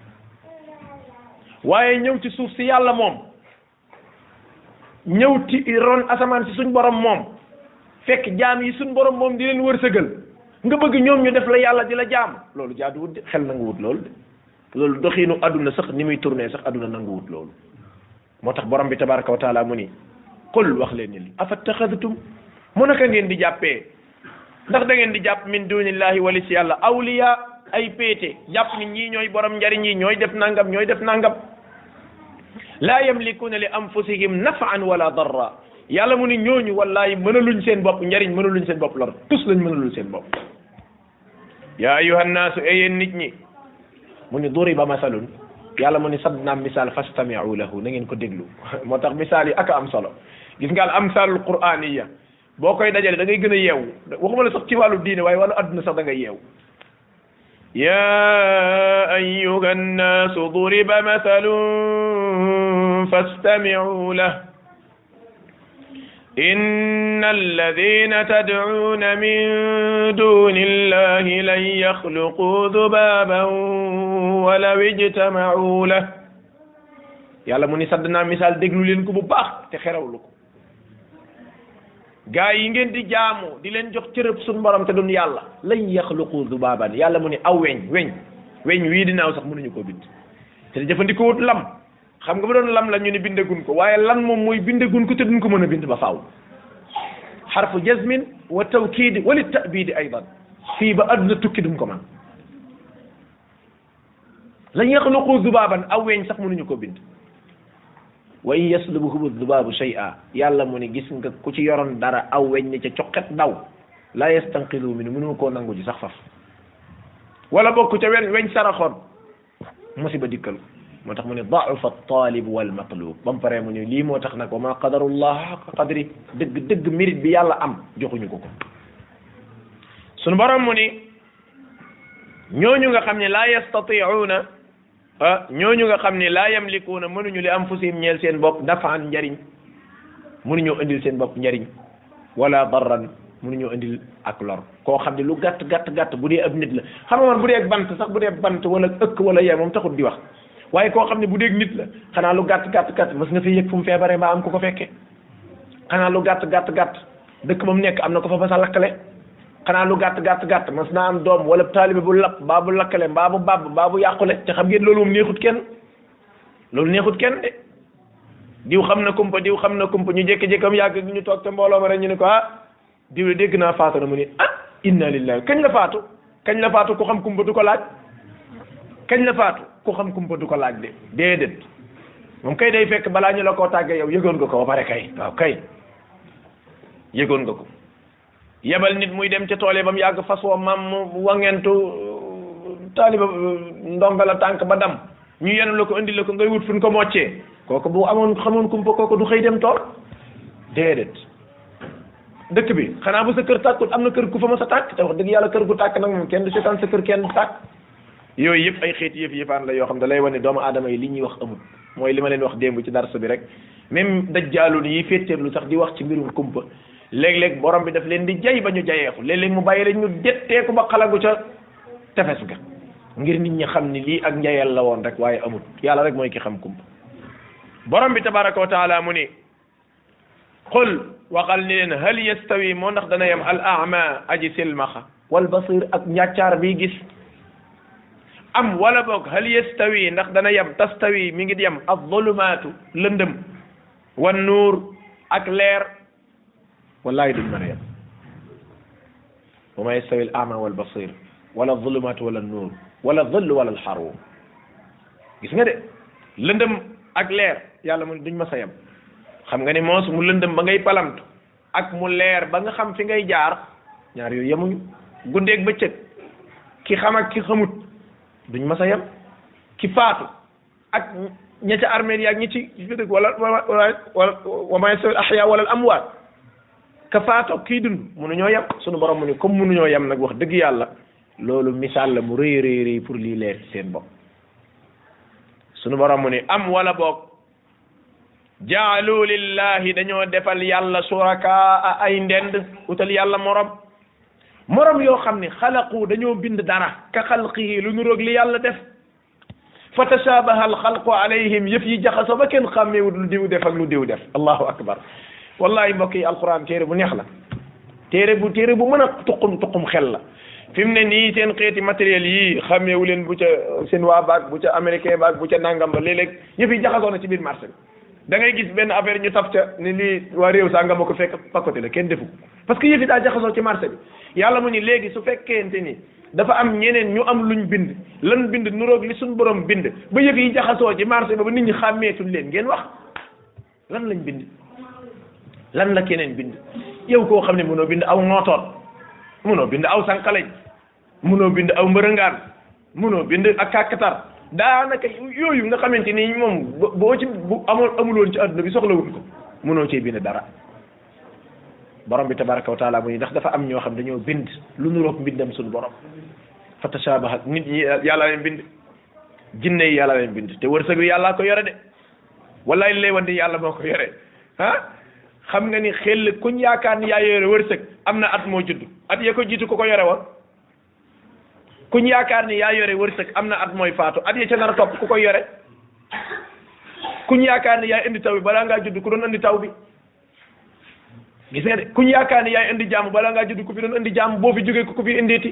waaye ñëw ci suuf si yàlla moom ñëw ci ron asamaan si suñ borom moom fekk jaam yi suñ borom moom di leen wërsëgal nga bëgg ñoom ñu def la yàlla di la jaam loolu jaaduwut de xel nanguwut loolu de loolu doxiinu adduna sax ni muy tourné sax adduna nanguwut loolu moo tax borom bi tabaraka wa taala mu ni qul wax leen ni afattaxadtum mu naka ngeen di jàppee ndax da ngeen di jàpp min dunillahi wali si yàlla awliya ay péete jàpp ni ñii ñooy borom njariñ yi ñooy def nangam ñooy def nangam laa yamlikuuna li anfusihim nafan wala darra yàlla mu ni ñooñu wallahi mënaluñ seen bopp njariñ mënaluñ seen bopp lor tus lañ mënalul seen bopp yaa ayuha nnaasu e yéen nit ñi mu ni duriba masalun yàlla mu ni sadd naam misaal fastamiu lahu na ngeen ko déglu moo tax misaal yi aka am solo gis nga al amsalul quraniya boo koy dajale da ngay gën a yeewu waxuma la sax ci wàllu diine waaye wàllu adduna sax da ngay yeewu ya ayuha nnaasu duriba masalun fastamiu lahu إن الذين تدعون من دون الله لن يخلقوا ذبابا ولو اجتمعوا له yàlla mu ni sadd naa misaal déglu leen ko bu baax te xerawlu ko gaa yi ngeen di jaamu di leen jox cërëb suñu borom te doon yàlla lan yaxluqu zubaaban yàlla mu ni aw weñ weñ weñ wii dinaaw sax mënuñu koo bind te jëfandikoo wut lam xam nga bu doon lam la ñu ni bindagun ko waaye lan moom mooy bindagun ko te duñ ko mën a bind ba faaw xarfu jazmin wa tawkiid wa li ta'biid aydan fii ba adduna tukki duñ ko man lan yaxluqu zubaaban aw weñ sax mënuñu ko bind wa in yaslubuhum zubaabu shay'a yàlla mu ni gis nga ku ci yoroon dara aw weñ ni ca coqet daw la yastanqidu min mënu koo nangu ji sax faf wala bokk ca wen weñ saraxoon musiba dikkal moo tax mu ne da'ufa at-talib wal matlub ba mu paree mu ne lii moo tax nag wa ma qadarullah haqqa qadri dëgg dëgg mérite bi yàlla am joxuñu ko ko sunu borom mu ni ñooñu nga xam ne laa yastati'una ah ñooñu nga xam ne laa yamlikuuna mënuñu li anfusihim ñeel seen bopp nafaan njariñ mënuñoo indil seen bopp njariñ wala darran mënuñoo indil ak lor koo xam ne lu gàtt gàtt gàtt bu dee ab nit la xam nga man bu dee bant sax bu dee bant wala ëkk wala yee moom taxut di wax waaye koo xam ne bu dee nit la xanaa lu gàtt gàtt gàtt mas nga fi yëg fu mu feebaree mbaa am ko ko fekkee xanaa lu gàtt gàtt gàtt dëkk ba mu nekk am na ko fa ba sa lakkale xanaa lu gàtt gàtt gàtt mas naa am doom wala taalibe bu lapp mbaa bu lakkale mbaa bu bàbb mbaa bu yàqule te xam ngeen loolu moom neexut kenn loolu neexut kenn de diw xam na kumpa diw xam na kumpa ñu jékki-jékkam yàgg ñu toog te mbooloo ma rek ñu ne ko ah diw dégg naa faatu na mu ni ah inna lillahi kañ la faatu kañ la faatu ku xam kumpa du ko laaj kañ la faatu ku xam kumpa du ko laaj de déedéet moom kay day fekk balaa ñu la koo tàggee yow yëgoon nga ko ba pare kay waaw kay yëgoon nga ko yebal nit muy dem ca tool yi ba mu yàgg fas woo mam wangentu taaliba ndonga la tànk ba dam ñu yenu la ko indi la ko ngay wut fu ñu ko moccee kooku bu amoon xamoon kumpa kooku du xëy dem tool déedéet dëkk bi xanaa bu sa kër tàkkut am na kër ku fa ma sa tàkk te wax dëgg yàlla kër gu tàkk nag moom kenn du seetaan sa kër kenn du tàkk yooyu yëpp ay xeeti yëf yëfaan la yoo xam da lay wane doomu aadama yi li ñuy wax amul mooy li ma leen wax démb ci darsa bi rek même dajjaalun yi féeteerlu sax di wax ci mbirum kumpa léeg-léeg borom bi daf leen di jay ba ñu jayeeku léeg-léeg mu bàyyi leen ñu detteeku ba xalagu ca tefes ga ngir nit ñi xam ni lii ak njayeel la woon rek waaye amul yàlla rek mooy ki xam kumpa borom bi tabaraka wa taala mu ni qul waxal ni leen hal yastawi moo ndax dana yem al a'ma aji silmaxa wal basir ak njàccaar bi gis am wala boog hal yastawi ndax dana yem tastawi mi ngi yem az-zulumaatu lëndëm wan nuur ak leer wallahi duñ mën a yem wa ma yastawi al a'ma wal basir wala az-zulumaatu wala nuur wala dhill wala al haruur gis nga de lëndëm ak leer yàlla mu duñ mas a yem xam nga ni moos mu lëndëm ba ngay palamtu ak mu leer ba nga xam fi ngay jaar ñaar yooyu yemuñu guddeeg bëccëg ki xam ak ki xamut duñ mas a yem ki faatu ak ña ca armeel yi ak ñi ci dëgg wala wala wala wa ma yastawi al ahya wala al amwaat ka faatu kii dund mënuñoo yem sunu borom mu ni comme mënuñoo yem nag wax dëgg yàlla loolu misaal la mu rëy rëy rëy pour lii leer ci seen bopp sunu borom mu ni am wala boog jaalu lillahi dañoo defal yàlla suraka ay ndend utal yàlla morom morom yoo xam ne xalaqu dañoo bind dara ka xalqihi lu nuroog li yàlla def fa tashabaha al xalqu alayhim yëf yi jaxaso ba kenn xàmmeewut lu diw def ak lu diw def allahu akbar wallahi mbokk yi alquran téere bu neex la téere bu téere bu mën a tuqum tuqum xel la fi mu ne nii seen xeeti matériel yi xàmmeewu leen bu ca seen waa baag bu ca américain baag bu ca nangam ba léeg-léeg yëf yi jaxasoo na ci biir marché bi da ngay gis benn affaire ñu taf ca ni lii waa réew saa nga ma ko fekk pakkote la kenn defu parce que yëf yi daa jaxasoo ci marché bi yàlla mu ni léegi su fekkente ni dafa am ñeneen ñu am luñ bind lan bind nuroog li suñ borom bind ba yëf yi jaxasoo ci marché ba ba nit ñi xàmmeetuñ leen ngeen wax lan lañ bind lan la keneen bind yow koo xam ne mënoo bind aw nootoon mënoo bind aw sànqaleñ mënoo bind aw mbërëngaan mënoo bind ak kàkkatar daanaka yooyu nga xamante ni moom boo ci bu amoon amuloon ci adduna bi soxlawuñ ko mënoo cee bind dara borom bi tabaraka wa taala mu ni ndax dafa am ñoo xam dañoo bind lu nuroog mbindam suñu borom fa tashabahat nit ñi yàlla leen bind jinne yi yàlla leen bind te wërsëg wi yàllaa ko yore de wallaay lay wante yàlla moo ko yore ah xam nga ni xel kuñ yaakaar ni yaa yore wërsëg am na at moo judd at ya ko jiitu ku ko yore woon kuñ yaakaar ni yaa yore wërsëg am na at mooy faatu at ya ca nar a topp ku koy yore kuñ yaakaar ni yaa indi taw bi balaa ngaa judd ku doon indi taw bi gis nga de kuñ yaakaar ni yaay indi jàmm balaa ngaa judd ku fi doon indi jàmm boo fi jógee ku fi indeeti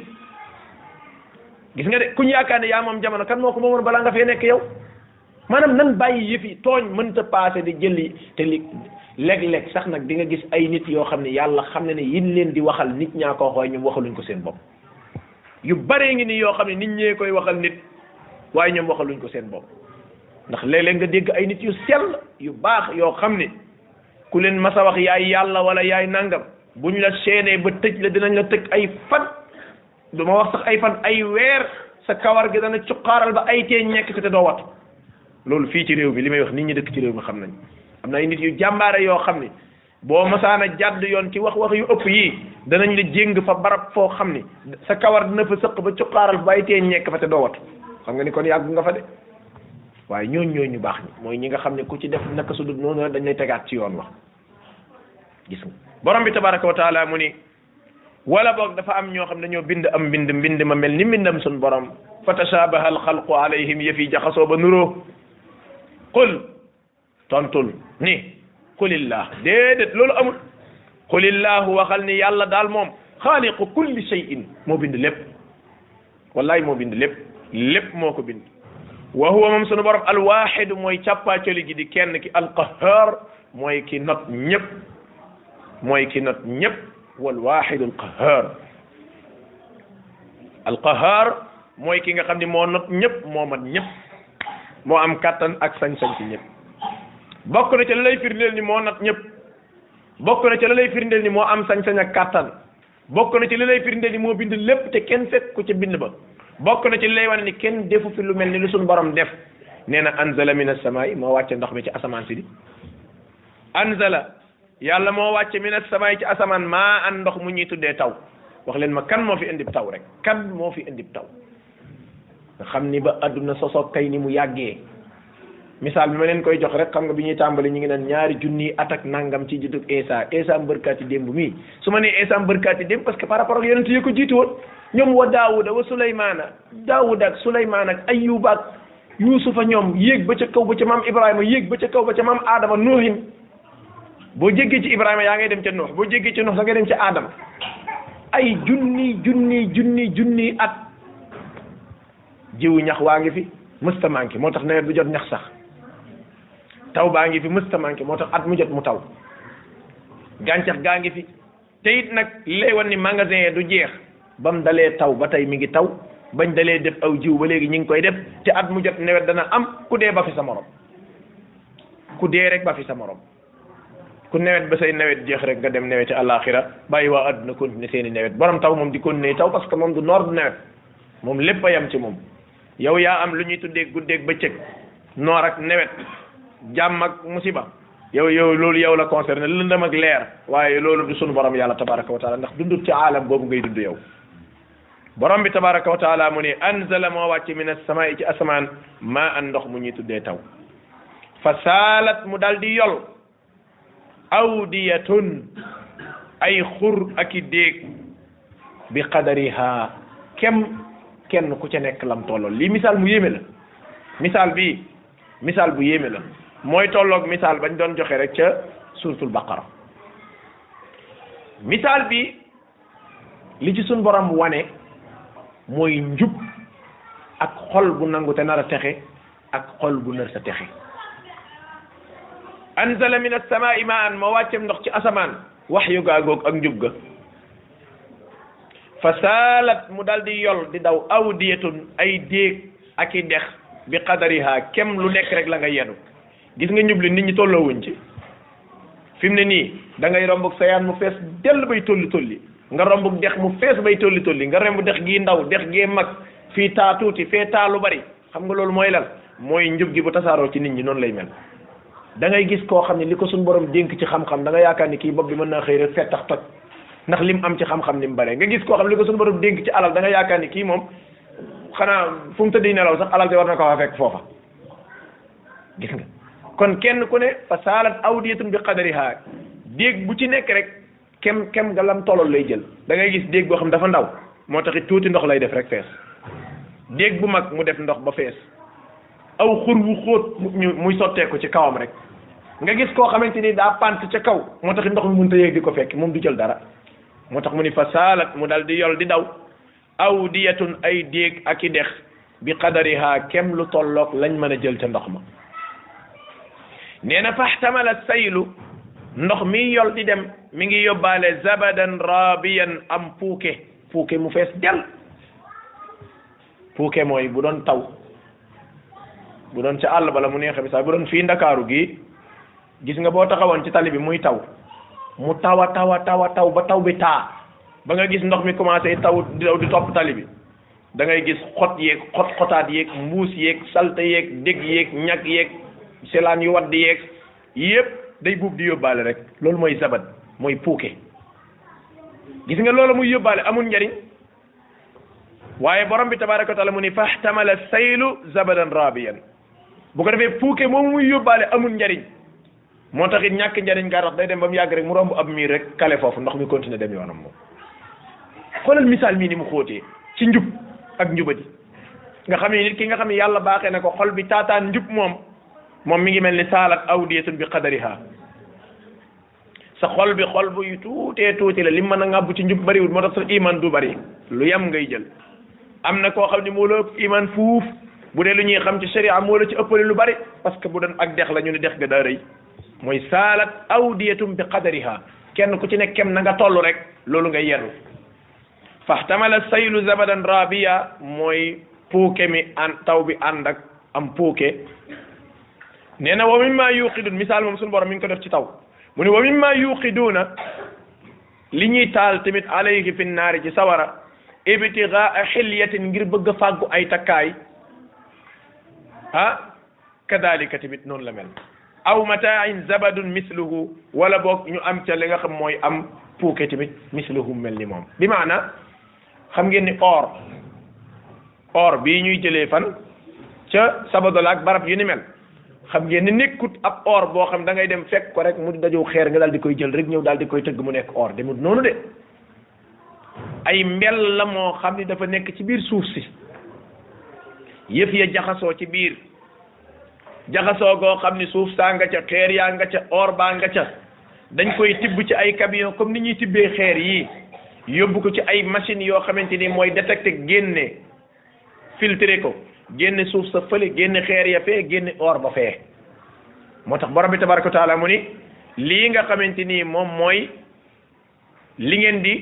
gis nga de kuñ yaakaar ni yaa moom jamono kan moo ko moomoon balaa nga fee nekk yow maanaam nan bàyyi yëf yi tooñ mënta passé di jëli te li léeg-léeg sax nag di nga gis ay nit yoo xam ne yàlla xam ne ne yin leen di waxal nit ñaa ko xooy ñoom waxaluñ ko seen bopp yu baree ngi ni yoo xam ne nit ñee koy waxal nit waaye ñoom waxaluñ ko seen bopp ndax léeg-léeg nga dégg ay nit yu sell yu baax yoo xam ne ku leen masa wax yaay yàlla wala yaay nangam buñ la seenee ba tëj la dinañ la tëj ay fan du ma wax sax ay fan ay weer sa kawar gi dana cuqaaral ba ay tee ñekk te doo wat loolu fii ci réew mi li may wax nit ñi dëkk ci réew mi xam nañ am na ay nit yu jàmbaare yoo xam ne boo masaana jàdd yoon ci wax wax yu ëpp yii danañ la jéng fa barab foo xam ni sa kawar dina fa sëq ba cuqaaral ba ay tee ñekk fa te doo wat xam nga ni kon yàgg nga fa de waaye ñooñ ñooñ ñu baax ñi mooy ñi nga xam ne ku ci def naka su dul noonu dañ lay tegaat ci yoon wax gis nga borom bi tabaraka wa taala mu ni wala boog dafa am ñoo xam ne dañoo bind am mbind mbind ma mel ni mbindam sun borom fa tashabaha al xalqu alayhim yëf yi jaxasoo ba nuroo qul tontul ni qulillah déedéet loolu amul qulillahu waxal ni yàlla daal moom xaaliqu kulli shay'in moo bind lépp wallahi moo bind lépp lépp moo ko bind wa huwa moom sunu borom alwahid mooy càppaacoli gi di kenn ki alqahar mooy ki not ñëpp mooy ki not ñëpp walwahid alqahar alqahar mooy ki nga xam ne moo not ñëpp moo mat ñëpp moo am kattan ak sañ-sañ ci ñëpp bokk na ci la lay firndeel ni moo not ñëpp bokk na ci la lay firndeel ni moo am sañ-sañ ak kattan bokk na ci la lay firndeel ni moo bind lépp te kenn fekk ko ca bind ba bokk na ci lay wane ni kenn defu fi lu mel ni lu suñu borom def nee na anzala min as-samaa'i moo wàcce ndox mi ci asamaan si di anzala yàlla moo wàcce min as-samaa'i ci asamaan maa an ndox mu ñuy tuddee taw wax leen ma kan moo fi indib taw rek kan moo fi indib taw nga xam ni ba adduna sosoog kay ni mu yàggee misaal bi ma leen koy jox rek xam nga bi ñuy tàmbali ñu ngi naan ñaari junni at ak nangam ci juddug Isa Isa mbërkaati démb mii su ma nee Isa mbërkaati démb parce que par rapport ak yonent yi ko jiitu woon ñoom wa Daawuda wa Suleymaana Daawuda ak Suleymaan ak Ayyuba ak Yuusufa ñoom yéeg ba ca kaw ba ca maam Ibrahima yéeg ba ca kaw ba ca maam Adama Nuuhin boo jéggee ci Ibrahima yaa ngay dem ca Nuux boo jéggee ci Nuux da ngay dem ca Adama ay junni junni junni junni at jiwu ñax waa ngi fi mësta manqué moo tax nawet bu jot ñax sax taw baa ngi fi mësta manqué moo tax at mu jot mu taw gàncax gaa ngi fi te it nag lay wan ni magasin yi du jeex ba mu dalee taw ba tey mi ngi taw bañ dalee def aw jiw ba léegi ñu ngi koy def te at mu jot nawet dana am ku dee ba fi sa morom ku dee rek ba fi sa morom ku nawet ba say nawet jeex rek nga dem neweti àllaaxira bàyyi waa àdduna continuer seeni nawet borom taw moom di continuer taw parce que moom du noor du nawet moom lépp a yam ci moom yow yaa am lu ñuy tuddee guddeeg bëccëg noor ak nawet jàmm ak musiba yow yow loolu yow la concerné lëndëm ak leer waaye loolu du sunu borom yàlla tabaraka wa taala ndax dundut ci aalam boobu ngay dund yow borom bi tabaraka wa taala mu ne anzala moo wàcc min as-samaa'i ci asamaan maa an ndox mu ñuy tuddee taw fa saalat mu dal di yol awdiyatun ay xur ak i déeg bi qadariha kem kenn ku ca nekk lam tollool lii misaal mu yéeme la misaal bi misaal bu yéeme la mooy tolloog misaal bañ doon joxe rek ca suratul baqara misaal bi li ci suñ borom wane mooy njub ak xol bu nangu te nar a texe ak xol bu nar sa texe anzala min as-samaa'i ma'an moo wàccem ndox ci asamaan wax yu gaagoog ak njub ga fa saalat mu dal di yol di daw awdiyatun ay déeg ak i dex bi qadariha kem lu nekk rek la nga yenu gis nga njub li nit ñi tolloowuñ ci fi mu ne nii da ngay romb sa yaan mu fees dell bay tolli tolli nga romb dex mu fees bay tolli tolli nga romb dex gii ndaw dex gii mag fii taa tuuti fee taa lu bari xam nga loolu mooy lan mooy njub gi bu tasaaroo ci nit ñi noonu lay mel da ngay gis koo xam ne li ko suñ borom dénk ci xam-xam da nga yaakaar ni kii bopp bi mën naa xëy rek fettax toj ndax lim am ci xam-xam ni mu bare nga gis koo xam ne li ko suñ borom dénk ci alal da nga yaakaar ni kii moom xanaa fu mu tëddi nelaw sax alal te war na ko fa fekk foofa gis nga kon kenn ku ne fa saalat awdiyatun bi qadariha déeg bu ci nekk rek kem kem nga lam tolol lay jël da ngay gis déeg boo xam dafa ndaw moo taxit tuuti ndox lay def rek fees déeg bu mag mu def ndox ba fees aw xur wu xóot ñu muy sotteeku ci kawam rek nga gis koo xamante ni daa pant ca kaw moo taxit ndox mi mënta yéeg di ko fekk moom du jël dara moo tax mu ni fa saalat mu dal di yol di daw awdiyatun ay déeg ak i dex bi qadariha kem lu tolloog lañ mën a jël ca ndox ma nee na faxtamala saylu ndox mi yol di dem mi ngi yóbbaale zabadan rabiyan am puuke puuke mu fees del puuke mooy bu doon taw bu doon ca àll bala mu neexe bi sax bu doon fii ndakaaru gi gis nga boo taxawoon ci tali bi muy taw mu tawa tawa tawa taw ba taw bi taa ba nga gis ndox mi commencé taw di daw di topp tali bi da ngay gis xot yeeg xot xotaat yeeg mbuus yeeg salte yeeg dégg yeeg ñag yeeg selaan yu wadd yeeg yëpp day buub di yóbbaale rek loolu mooy zabat mooy puuke gis nga loolu muy yóbbaale amul njariñ waaye borom bi tabaraka wa taala mu ni fahtamala saylu zabadan rabiyan bu ko defee puuke moom muy yóbbaale amul njariñ moo tax it ñàkk njariñ gaa tax day dem ba mu yàgg rek mu romb ab miir rek kale foofu ndox mi continuer dem yoonam moom xoolal misaal mii ni mu xóotee ci njub ak njubadi nga xam ne nit ki nga xam ne yàlla baaxee na ko xol bi taataan njub moom moom mi ngi mel ni saalat awdiyatun bi qadariha sa xol bi xol bu yu tuutee tuuti la li mën a ngàbbu ci njub bariwul moo tax sa iman du bari lu yem ngay jël am na koo xam ne moo la ëpp iman fuuf bu dee lu ñuy xam ci sharia moo la ci ëppale lu bari parce que bu doon ak dex la ñu ne dex ga daa rëy mooy saalat awdiyatum bi qadariha kenn ku ci nekk kem na nga toll rek loolu ngay yenu fahtamala saylu zabadan rabiya mooy puuke mi an taw bi ànd ak am puuke nee na wa mimma yuqidun misaal moom suñu borom mi ngi ko def ci taw mu ne wa mimma yuqiduuna li ñuy taal tamit alayhi fi naari ci sawara ibtigaa xilyatin ngir bëgg a fàggu ay takkaay ah kadalika tamit noonu la mel aw mataain zabadun misluhu wala boog ñu am ca li nga xam mooy am puuke tamit misluhu mel ni moom bi maana xam ngeen ni or or bii ñuy jëlee fan ca Sabodala ak barab yu ni mel xam ngeen ni nekkut ab or boo xam da ngay dem fekk ko rek mu dajow xeer nga daal di koy jël rek ñëw daal di koy tëgg mu nekk or demut noonu de ay mbel la moo xam ni dafa nekk ci biir suuf si yëf ya jaxasoo ci biir jaxasoo goo xam ni suuf saa nga ca xeer yaa nga ca or baa nga ca dañ koy tibb ci ay camion comme ni ñuy tibbee xeer yi yóbbu ko ci ay machine yoo xamante ni mooy détecté génne filtré ko génne suuf sa fële génne xeer ya fee génne or ba fee moo tax borom bi tabaraka wa taala mu ni lii nga xamante ni moom mooy li ngeen di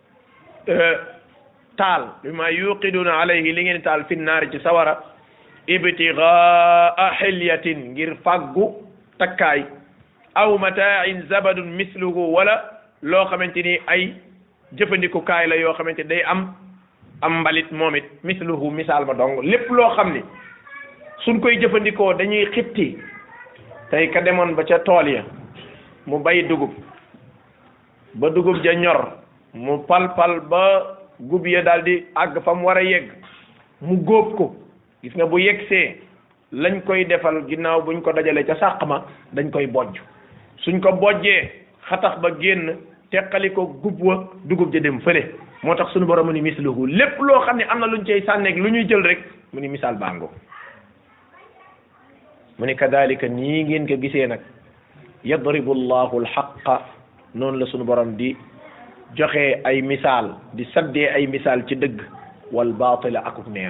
taal bi ma yuqiduna alayhi li ngeen di taal fi naari ci sawara ibtigaa xilyatin ngir fàggu takkaay aw mataain zabadun misluhu wala loo xamante ni ay jëfandikukaay la yoo xamante day am am mbalit moom it misluhu misaal ma dong lépp loo xam ni suñ koy jëfandikoo dañuy xitti tey ka demoon ba ca tool ya mu bay dugub ba dugub ja ñor mu pal-pal ba gub ya daal di àgg fa mu war a yegg mu góob ko gis nga bu yeggsee lañ koy defal ginnaaw buñ ko dajalee ca sàq ma dañ koy bojj suñ ko bojjee xatax ba génn teqali ko gub wa dugub ja dem fële moo tax suñu borom mu ni misluhu lépp loo xam ne am na luñ cay sànneeg lu ñuy jël rek mu ni misaal bango mu ni kadalika nii ngeen ko gisee nag yadribu llahu alxaqa noonu la suñu borom di joxe ay misaal di saddee ay misaal ci dëgg wal baatila akuk neen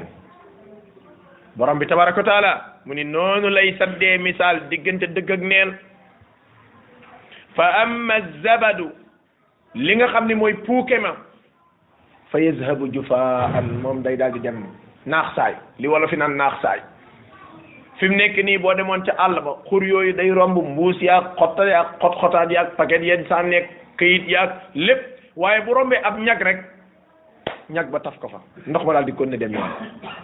borom bi tabaraka wa taala mu ni noonu lay saddee misaal diggante dëgg ak neen fa amma zabadu li nga xam ne mooy puuke ma fa yazhabu jufaan moom day daal di dem naax saay li wala fi naan naax saay fi mu nekk nii boo demoon ca àll ba xur yooyu day romb mbuus yaag xotta yaag xot xotaat yaag paquet yeen sànneeg këyit yaag lépp waaye bu rombee ab ñag rek ñag ba taf ko fa ndox ma daal di kon ne dem yoon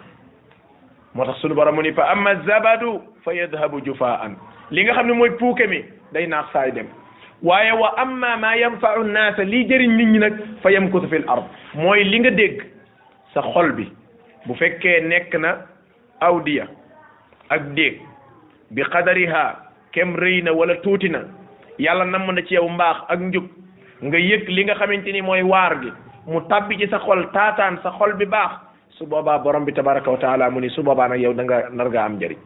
moo tax sunu borom mu ni fa amma zabadu fa yadhabu jufaan li nga xam ne mooy puuke mi day naax saay dem waaye wa amma ma yanfa'u nnaasa lii jëriñ nit ñi nag fa yamkutu fil ard mooy li nga dégg sa xol bi bu fekkee nekk na awdiya ak déeg bi qadariha kem rëy na wala tuuti na yàlla namm na ci yow mbaax ak njub nga yëg li nga xamante ni mooy waar gi mu tabbi ci sa xol taataan sa xol bi baax su boobaa borom bi tabaraka wa taala mu ni su boobaa nag yow da nga nar nga am njëriñ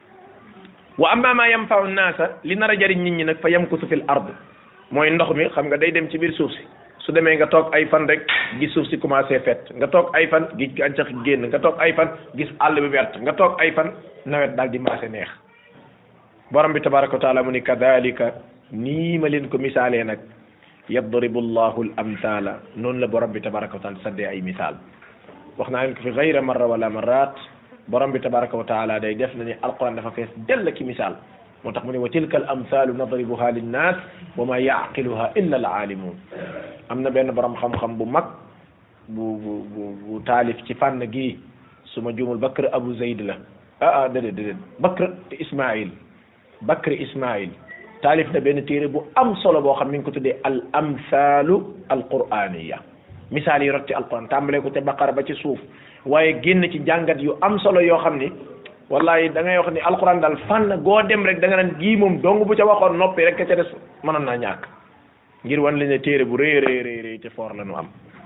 wa amma ma yanfa'u nnaasa li nar a jëriñ nit ñi nag fa yamkutu fil ard mooy ndox mi xam nga day dem ci biir suuf si su demee nga toog ay fan rek gis suuf si commencé fet nga toog ay fan gis gàncax gi génn nga toog ay fan gis àll bi wert nga toog ay fan nawet daal di maase neex borom bi tabaraka wa taala mu ni kadalika nii ma leen ko misaalee nag yadribu llahu al amthala noonu la borom bi tabaraka wa taala saddee ay misaal wax naa leen ko fi gayra marra wala marrat borom bi tabaraka wa taala day def na ni alquran dafa fees dell ki misaal moo tax mu ne wa tilka al amthalu nadribuha linnas wa ma yaqiluha illa al alimun am na benn borom xam-xam bu mag bu bu bu bu taalif ci fànn gii su ma juumul Bakr Abu Zayd la ah ah déedéet déedéet Bakr Ismail Bakr Ismail taalif na benn téere bu am solo boo xam mi ngi ko tuddee al amthalu al quraniya misaal yi rot ci alquran tàmbalee ko ca baqara ba ci suuf waaye génn ci jàngat yu am solo yoo xam ni wallahi da ngay wax ni alquran daal fànn goo dem rek da nga naan gii moom dong bu ca waxoon noppi rek ka ca des mënoon naa ñàkk ngir wan la ne téere bu rëy rëy rëy rëy te foor la nu am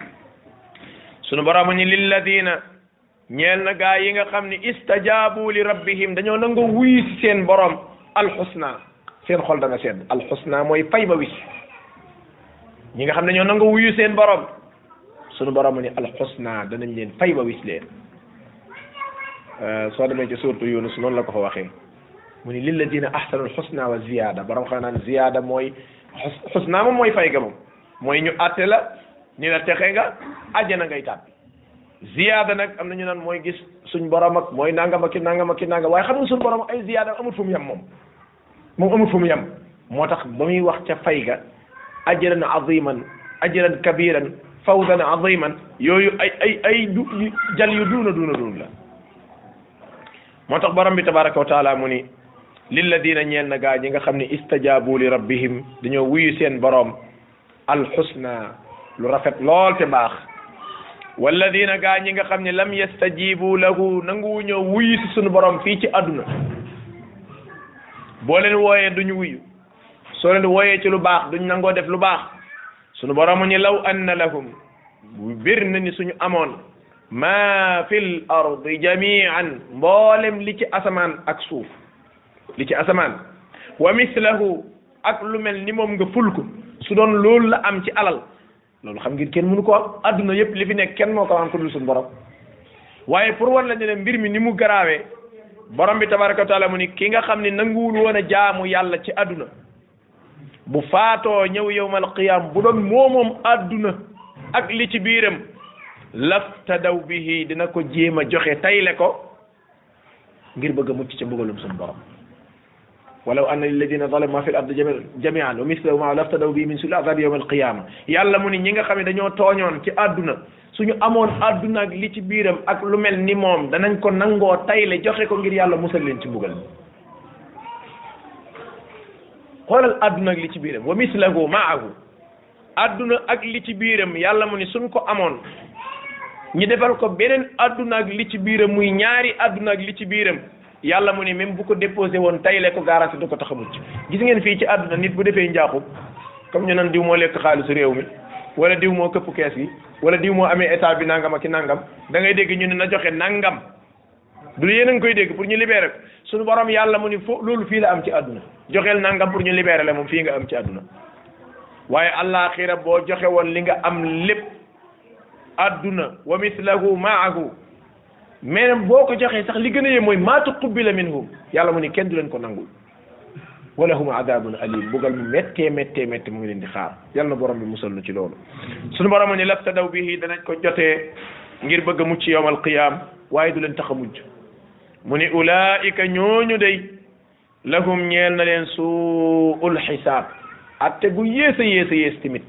sunu borom ni lilladina ñeel na gaa yi nga xam ni istajabu li rabbihim dañoo nangoo wuyu si seen borom alxusna seen xol dana sedd alxusna mooy fay ba wis ñi nga xam ne ñoo nangoo wuyu seen borom sunu borom ni alxusna danañ leen fay ba wis leen soo demee ci suurtu Yunus noonu la ko fa waxee mu ni lilladina ahsanu alxusna wa ziyada borom xam naan ziyada mooy xusna moom mooy fay ga moom mooy ñu àtte la ni la texe nga àjjana ngay tàbbi ziyaada nag am na ñu naan mooy gis suñ borom ak mooy nangam ak ki nangam ak ki nangam waaye xam nga suñ borom ay ziyaada amul fu mu yem moom moom amul fu mu yem moo tax ba muy wax ca fay ga ajran aziman ajran kabiran fawzan aziman yooyu ay ay ay du jal yu duuna duuna duun la moo tax borom bi tabaraka wa taala mu ni lilladina ñeel na gaa ñi nga xam ne istajabu li rabbihim dañoo wuyu seen borom alxusna lu rafet lool te baax walladina gaa ñi nga xam ne lam yastajibu lahu nanguwu ñoo wuyu si sunu borom fii ci àdduna boo leen wooyee duñu wuyu soo leen wooyee ci lu baax duñ nangoo def lu baax sunu borom ñu law anna lahum bu bir na ni suñu amoon ma fil ardi jamian mboolem li ci asamaan ak suuf li ci asamaan wa mislahu ak lu mel ni moom nga ful ko su doon loolu la am ci alal loolu xam ngeen kenn mënu ko am adduna yëpp li fi nekk kenn moo ko am ko dul suñu borom waaye pour war la ne mbir mi ni mu garaawee borom bi tabaraka wa taala mu ni ki nga xam ne nanguwul woon a jaamu yàlla ci adduna bu faatoo ñëw yawmal qiyam bu doon moomoom adduna ak li ci biiram laftadaw bihi dina ko jéem a joxe tayle ko ngir bëgg a mucc ca mbugalum suñu borom walaw anna lilladina zalamu ma fi l ardi jamian wa mislahu ma laftadaw bihi min suuli azabi yawma alqiyama yàlla mu ni ñi nga xam ne dañoo tooñoon ci àdduna suñu amoon àdduna ak li ci biiram ak lu mel ni moom danañ ko nangoo tayle joxe ko ngir yàlla musal leen ci mbugal xoolal àdduna ak li ci biiram wa mislahu maahu àdduna ak li ci biiram yàlla mu ni suñ ko amoon ñi defal ko beneen àdduna ak li ci biiram muy ñaari àdduna ak li ci biiram yàlla mu ni même bu ko déposé woon tayle ko garanti du ko tax a mucc gis ngeen fii ci àdduna nit bu defee njaaxum comme ñu nan diw moo lekk xaalisu réew mi wala diw moo këpp kees gi wala diw moo amee état bi nangam ak ki nangam da ngay dégg ñu ne na joxe nangam du yéen a ngi koy dégg pour ñu libérer ko suñu borom yàlla mu ni fo loolu fii la am ci àdduna joxeel nangam pour ñu libérer la moom fii nga am ci àdduna waaye àllaaxira boo joxe woon li nga am lépp àdduna wa mislahu maahu même boo ko joxee sax li gën a yee mooy maa tuqbila minhum yàlla mu ni kenn du leen ko nangul wa lahum adabun alim bugal mu méttee méttee méttee mu ngi leen di xaar yal na borom bi musal nu ci loolu suñu borom ni laftadaw bihi danañ ko jotee ngir bëgg a mucc yawmal qiyam waaye du leen tax a mujj mu ni ulaika ñooñu day lahum ñeel na leen suul xisaab atte gu yées a yées a yées tamit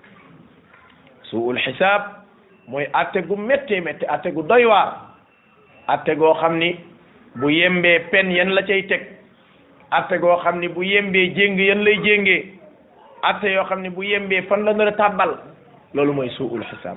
suul xisaab mooy atte gu méttee méttee atte gu doy waar atte goo xam ni bu yembee pen yan la cay teg atte goo xam ni bu yembee jéng yan lay jéngee atte yoo xam ni bu yembee fan la nar a tàbbal loolu mooy suul xisaab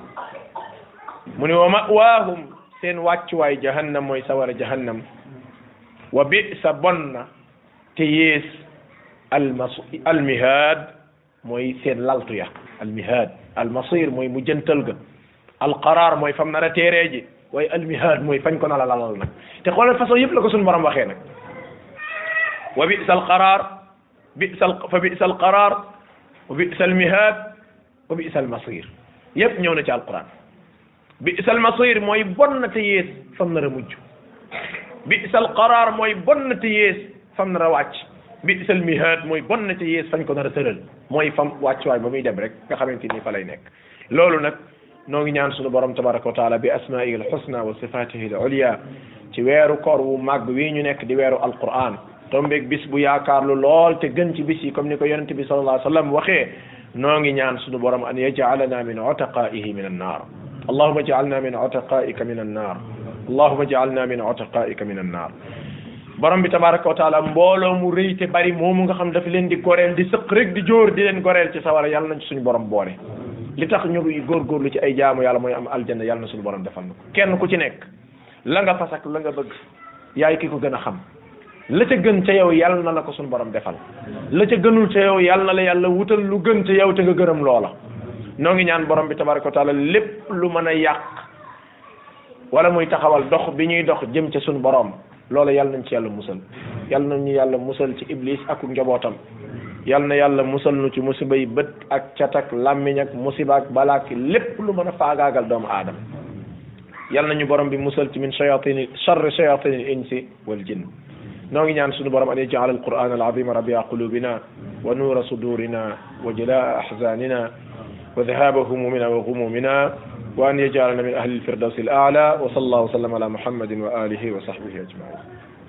mu ni wa mawaahum seen wàccuwaay jahannam mooy sawara jahannam wa bisa bon na te yées almas almihaad mooy seen laltu ya almihaad almasir mooy mu jëntal ga alqaraar mooy fam nar a téeree ji waaye almihaad mooy fañ ko na la lalal nag te xoolal façon yëpp la ko suñu borom waxee nag wa bisa alqaraar bisa fa bisa alqaraar wa bisa almihaad wa bisa almasir yëpp ñëw na ci alquran bisa almasir mooy bon na te yées fam nar a mujj bisa alqaraar mooy bon na te yées fam nar a wàcc bisa almihaad mooy bon na te yées fañ ko nar a tëral mooy fam wàccuwaay ba muy dem rek nga xamante ni fa lay nekk loolu nag noo ngi ñaan suñu borom tabaraka wa taala bi asmaihi alxusna wa sifatihi al ulia ci weeru koor wu màgg wii ñu nekk di weeru alquran tombeeg bis bu yaakaarlu lool te gën ci bis yi comme ni ko yonente bi sallallahu alayhi wa sallam waxee noo ngi ñaan suñu borom an yajalana min utaqaihi min annar allahuma ij'alna min utaqaika min annar allahuma ij'alna min utaqaika min annar borom bi tabaraka wa taala mbooloo mu rëy te bari moomu nga xam dafa leen di goreel di sëq rek di jóor di leen goreel ci sawara yàlla nañ ci suñu borom boole li tax ñu góorgóorlu ci ay jaamu yàlla mooy am aljanna yàlla na suñu borom defal na ko kenn ku ci nekk la nga fas ak la nga bëgg yaay ki ko gën a xam la ca gën ca yow yàlla na la ko suñu borom defal la ca gënul ca yow yàlla na la yàlla wutal lu gën ca yow te nga gërëm loola noo ngi ñaan borom bi tabaraka wa taala lépp lu mën a yàq wala muy taxawal dox bi ñuy dox jëm ca suñu borom loola yàlla nañ ci yàlla musal yàlla nañu yàlla musal ci iblis ak njabootam yàlla na yàlla musal nu ci musiba yi bët ak cat ak làmmiñ ak musiba ak balaak lépp lu mën a faagaagal doomu aadama yàlla nañu borom bi musal ci min shayatini charri shayatini insi wal jinn noo ngi ñaan suñu borom an yaj'al alquran alazima rabia qulubina wa nuura sudurina wa jalaa ahzanina wa dhahaba humumina wa ghumumina wa an yaj'alana min ahli alfirdawsi al a'la wa sallallahu wa sallam ala muhammadin wa alihi wa sahbihi ajma'in